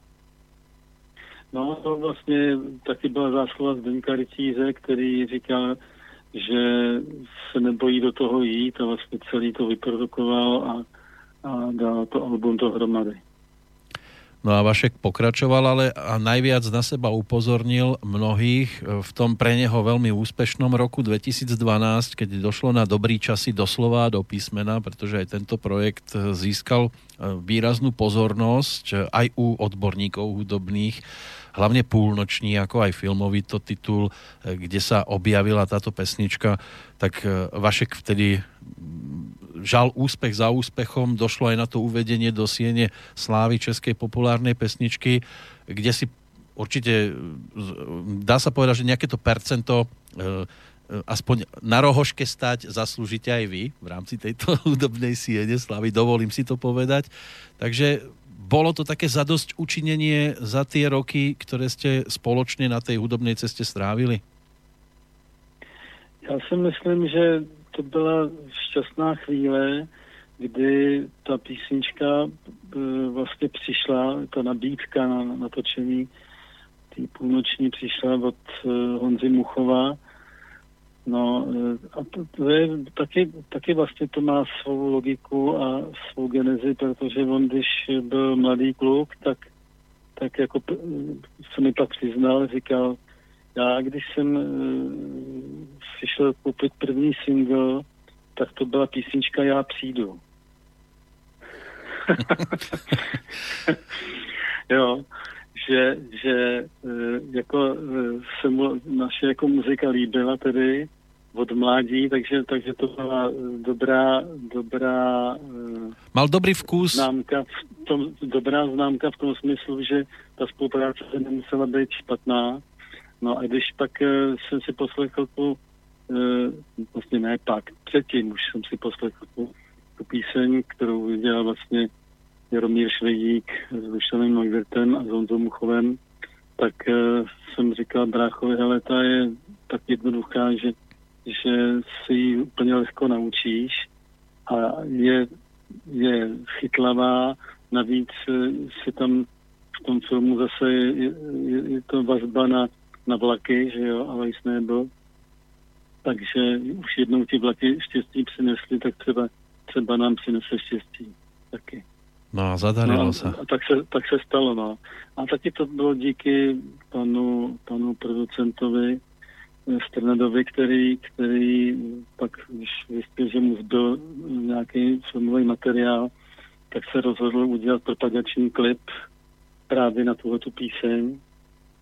No to vlastně taky byla zásluha Zdeňka Rytíře, který říkal, že se nebojí do toho jít a vlastně celý to vyprodukoval a, a dal to album dohromady. No a Vašek pokračoval, ale a najviac na seba upozornil mnohých v tom pre neho veľmi úspešnom roku dvetisícdvanásť, keď došlo na dobrý časy doslova do písmena, pretože aj tento projekt získal výraznú pozornosť aj u odborníkov hudobných, hlavne Púlnoční, ako aj filmový to titul, kde sa objavila táto pesnička, tak Vašek vtedy žal úspech za úspechom, došlo aj na to uvedenie do siene slávy českej populárnej pesničky, kde si určite dá sa povedať, že nejaké to percento aspoň na rohoške stať zaslúžite aj vy v rámci tejto hudobnej siene slávy, dovolím si to povedať. Takže bolo to také zadosť učinenie za tie roky, ktoré ste spoločne na tej hudobnej ceste strávili? Já si myslím, že to byla šťastná chvíle, kdy ta písnička e, vlastně přišla, ta nabídka na natočení té Půlnoční přišla od e, Honzy Muchova. No e, a to, to je taky, taky vlastně to má svou logiku a svou genezi, protože on, když byl mladý kluk, tak, tak jako se mi pak přiznal, říkal, já, když jsem e, si šel koupit první single, tak to byla písnička Já přijdu. Jo, že, že e, jako e, se mu naše jako muzika líbila tedy od mládí, takže, takže to byla dobrá, dobrá e, mal dobrý vkus. Známka v tom, dobrá známka v tom smyslu, že ta spolupráce nemusela být špatná. No a když pak uh, jsem si poslechl tu, uh, vlastně ne pak, předtím už jsem si poslechl tu, tu píseň, kterou udělal vlastně Jaromír Švejdík s Dušanem Neuwirtem a s Honzou Muchovem, tak uh, jsem říkal bráchovi, hele, ta je tak jednoduchá, že, že si ji úplně lehko naučíš a je, je chytlavá, navíc uh, si tam v tom filmu zase je, je, je to vazba na na vlaky, že jo, ale jsi nebyl. Takže už jednou ti vlaky štěstí přinesli, tak třeba, třeba nám přinese štěstí taky. No a zadarilo no, se. A tak se, tak se stalo, no. A taky to bylo díky panu, panu producentovi Strnadovi, který, který pak, když zjistil, že mu zbyl nějaký filmový materiál, tak se rozhodl udělat propagační klip právě na tuhletu píseň.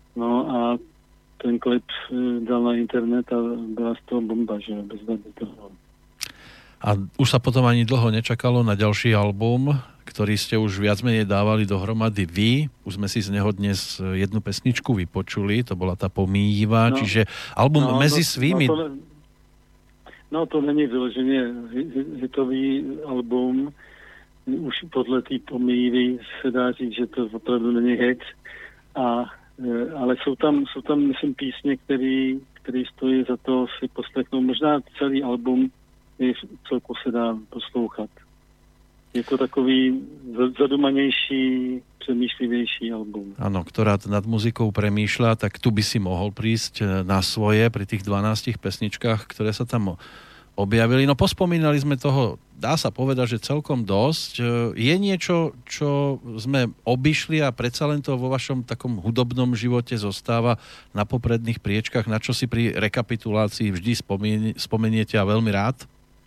No a ten klip dal na internet a byla z toho bomba, že bez toho. A už sa potom ani dlho nečakalo na ďalší album, ktorý ste už viac menej dávali dohromady vy. Už sme si z neho dnes jednu pesničku vypočuli, to bola tá Pomýva, no, čiže album no, Mezi no, svými... No to, no to není vyloženě hitový album. Už podle té Pomývy se dá říct, že to opravdu není hit. A, ale jsou tam, jsou tam, myslím, písně, který, který stojí za to si poslechnout. Možná celý album celku se dá poslouchat. Je to takový zadumanější, přemýšlivější album. Áno, ktorá nad muzikou premýšľa, tak tu by si mohol prísť na svoje pri tých dvanástich pesničkách, ktoré sa tam objavili. No pospomínali sme toho, dá sa povedať, že celkom dosť. Je niečo, čo sme obišli a predsa len to vo vašom takom hudobnom živote zostáva na popredných priečkách, na čo si pri rekapitulácii vždy spomeniete a veľmi rád?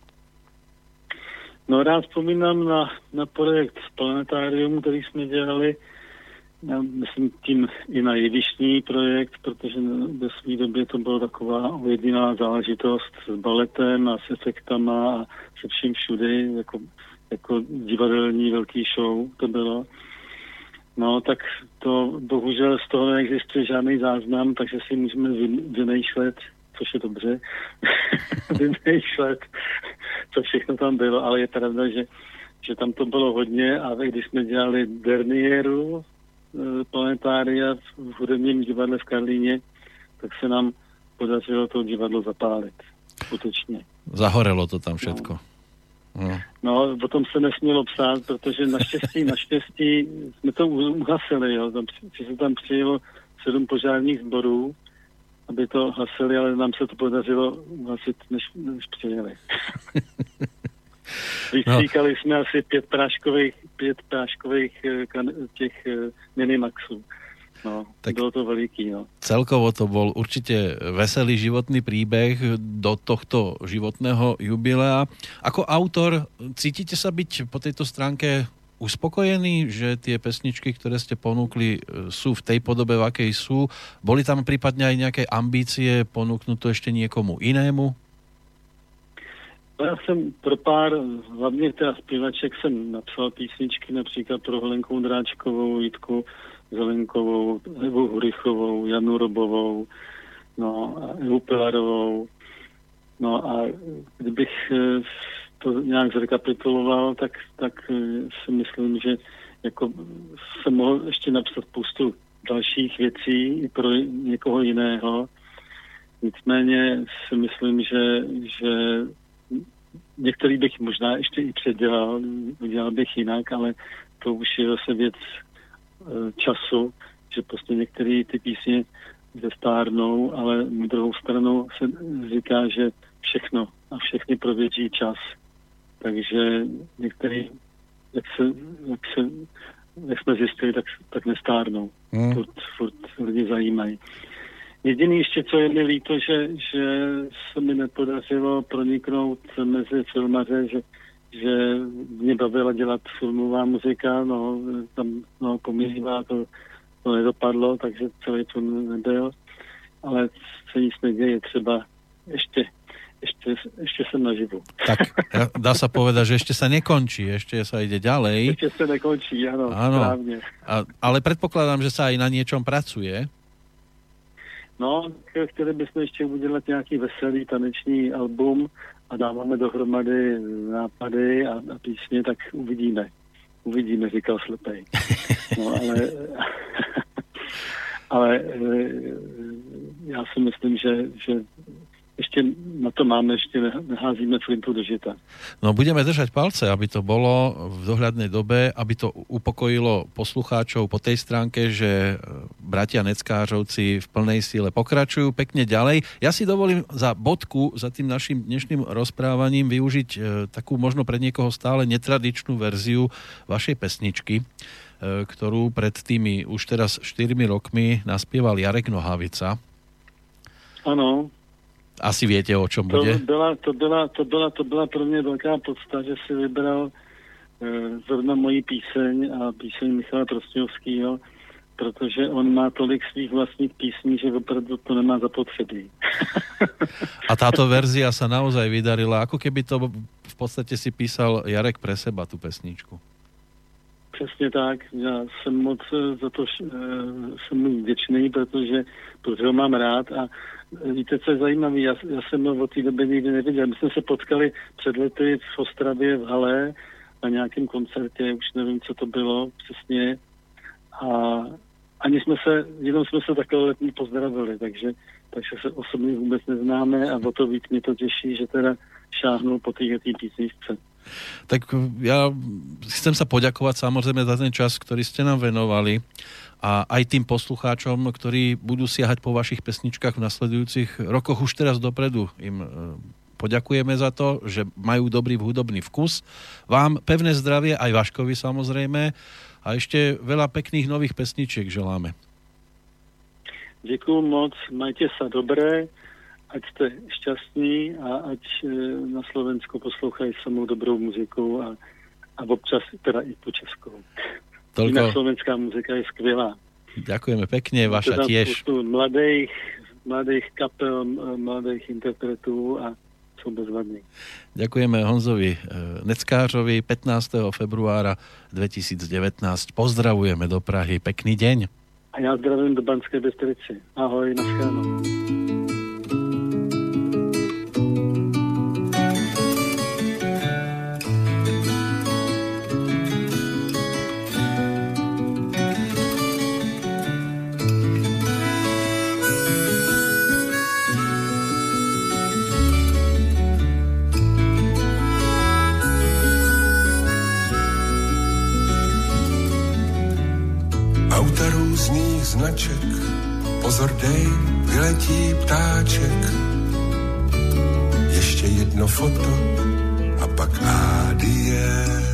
No rád vzpomínám na, na projekt Planetárium, který jsme dělali. Já myslím tím i na jevištní projekt, protože ve své době to byla taková jediná záležitost s baletem a s efektama a se vším všudy, jako, jako divadelní velký show to bylo. No tak to bohužel z toho neexistuje žádný záznam, takže si můžeme vymýšlet, což je dobře, vymýšlet, co všechno tam bylo, ale je pravda, že, že tam to bylo hodně a když jsme dělali derniéru e, Planetária v hudebním divadle v Karlíně, tak se nám podařilo to divadlo zapálit. Skutečně. Zahorelo to tam všetko. No. no, no o tom se nesmělo psát, protože naštěstí, naštěstí jsme to uhasili, jo. Tam, že se tam přijelo sedm požárních sborů, aby to hasili, ale nám se to podařilo uhasit, než, než přijeli. Vystříkali no. jsme asi pět práškových, pět práškových těch Minimaxů. No, tak bylo to veliký, no. Celkovo to bol určite veselý životný príbeh do tohto životného jubilea. Ako autor, cítite sa byť po tejto stránke uspokojený, že tie pesničky, ktoré ste ponúkli, sú v tej podobe, v akej sú? Boli tam prípadne aj nejaké ambície ponúknuť to ešte niekomu inému? Já jsem pro pár, hlavně teda zpěvaček, jsem napsal písničky například pro Helenku Dráčkovou, Jitku Zelenkovou, Evu Hurichovou, Janu Robovou, no a Evu Pilarovou. No a kdybych to nějak zrekapituloval, tak, tak si myslím, že jako jsem mohl ještě napsat spoustu dalších věcí i pro někoho jiného. Nicméně si myslím, že, že některý bych možná ještě i předělal, udělal bych jinak, ale to už je zase věc času, že prostě některé ty písně zestárnou, ale na druhou stranu se říká, že všechno a všechny prověří čas. Takže některý, jak, se, jak, se, jak jsme zjistili, tak, tak nestárnou. Hmm. Furt, furt lidi zajímají. Jediný ještě, co je mi líto, že, že se mi nepodařilo proniknout mezi filmaře, že, že mě bavila dělat filmová muzika, no tam no, Pomývá, to, to nedopadlo, takže celý film nebyl. Ale se nic neděje, třeba ještě Ešte, ešte som naživu. Tak, dá sa povedať, že ešte sa nekončí, ešte sa ide ďalej. Ešte sa nekončí, áno, áno. Správne. A, ale predpokladám, že sa aj na niečom pracuje. No, chtěli bychom ještě udělat nějaký veselý taneční album a dáváme dohromady nápady a, a písně, tak uvidíme. Uvidíme, říkal slepej. No, ale... ale já si myslím, že, že ešte na to máme, ešte neházíme flintu do žita. No budeme držať palce, aby to bolo v dohľadnej dobe, aby to upokojilo poslucháčov po tej stránke, že bratia Neckářovci v plnej síle pokračujú pekne ďalej. Ja si dovolím za bodku, za tým našim dnešným rozprávaním využiť e, takú možno pre niekoho stále netradičnú verziu vašej pesničky, e, ktorú pred tými už teraz štyrmi rokmi naspieval Jarek Nohavica. Áno. Asi viete, o čom to bude? Byla, to, byla, to, byla, to byla pro mě velká podsta, že si vybral e, zrovna moji píseň a píseň Michala Trostňovského protože on má tolik svých vlastních písní, že opravdu to nemá zapotřebí. A táto verzia sa naozaj vydarila, ako keby to v podstate si písal Jarek pre seba, tú pesničku. Přesně tak. Já jsem moc za to jsem mu vděčný, protože, protože ho mám rád a víte, co je zajímavé, já, já jsem ho od té doby nikdy neviděl. My jsme se potkali před lety v Ostravě v hale na nějakém koncertě, už nevím, co to bylo přesně. A ani jsme se, jenom jsme se takhle letní pozdravili, takže, takže se osobně vůbec neznáme a o to víc mě to těší, že teda šáhnul po té písničce. Tak ja chcem sa poďakovať samozrejme za ten čas, ktorý ste nám venovali a aj tým poslucháčom, ktorí budú siahať po vašich pesničkách v nasledujúcich rokoch. Už teraz dopredu im poďakujeme za to, že majú dobrý hudobný vkus. Vám pevné zdravie, aj Vaškovi samozrejme, a ešte veľa pekných nových pesničiek želáme. Děkuju moc, majte sa dobré, ať ste šťastní a ať na Slovensku poslouchají samou dobrou muziku a, a občas teda i po českou. Toľko... Inak slovenská muzika je skvělá. Ďakujeme pekne, vaša teda tiež. Mladých, mladých kapel, mladých interpretů a sú bezvadní. Ďakujeme Honzovi Neckářovi pätnásteho februára dvetisícdevätnásť. Pozdravujeme do Prahy. Pekný deň. A ja zdravím do Banskej Bystrici. Ahoj, naschledanou. Auta různých značek, pozor dej, vyletí ptáček. Ještě jedno foto a pak ádie.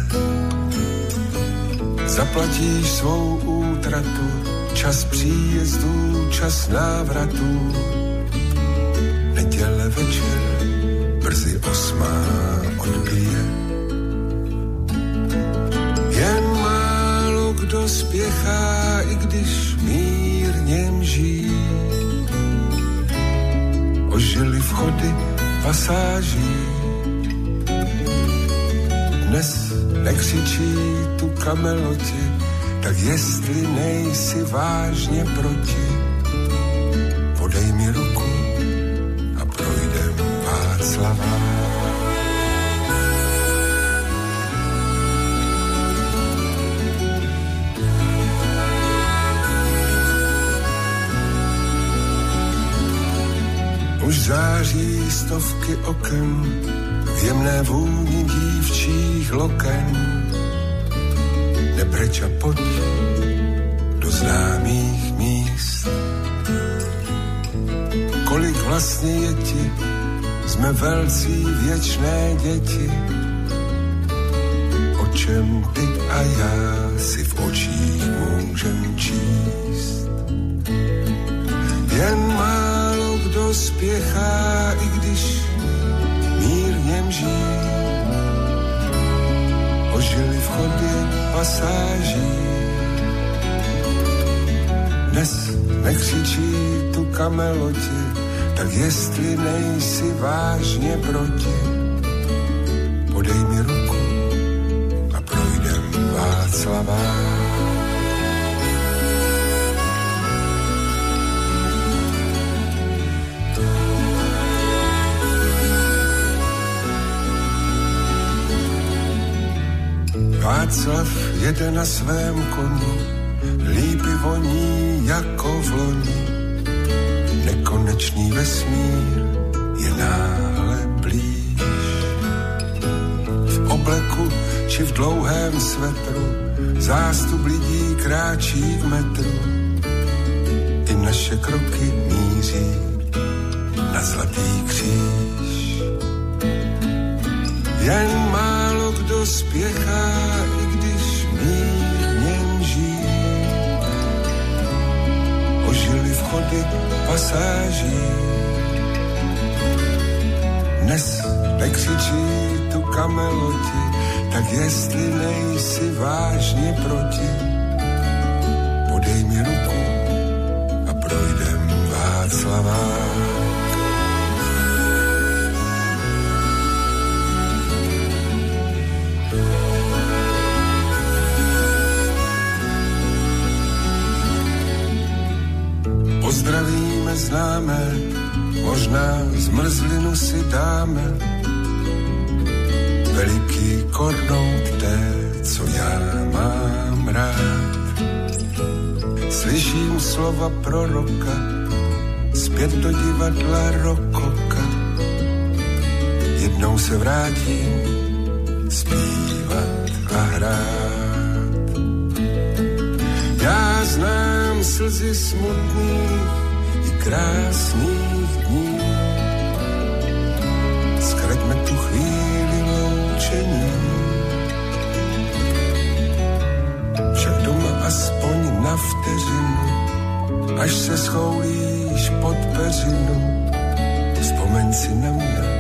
Zaplatíš svou útratu, čas příjezdů, čas návratů. Neděle večer, brzy osmá odbije. Jen málo kdo spěchá, i když mírně mží. Ožily vchody pasáží. Dnes nekřičí tu kameloti, tak jestli nejsi vážně proti, podej mi ruku a projdem Václavá. Už září stovky oken, v jemné vůni dívčích loken. Nepreč a pojď do známých míst. Kolik vlastně je ti, jsme velcí věčné děti. O čem ty a já si v očích můžem číst. Jen málo kdo spěchá, i když mírně mží. Ožily vchody pasáží. Dnes nekřičí tu kameloti, tak jestli nejsi vážně proti, podej mi ruku a projdem Václavá. Václav jede na svém koni, lípy voní jako v loni. Nekonečný vesmír je náhle blíž. V obleku či v dlouhém svetru zástup lidí kráčí k metru. I naše kroky míří na zlatý kříž. Jen málo kdo spěchá, i když mírně mží. Ožily vchody pasáží. Dnes nekřičí tu kameloti, tak jestli nejsi vážně proti, podej mi ruku Slavák. Pozdravíme známe, možná zmrzlinu si dáme. Veliký kornout té, co já mám rád. Slyším slova proroka, zpět do divadla rokoka. Jednou se vrátím zpívat a hrát. Já znám slzy smutných i krásných dní. Zkraťme tu chvíli loučení. Však doma aspoň na vteřinu, až se schoulíš pod peřinu, vzpomeň si na mě.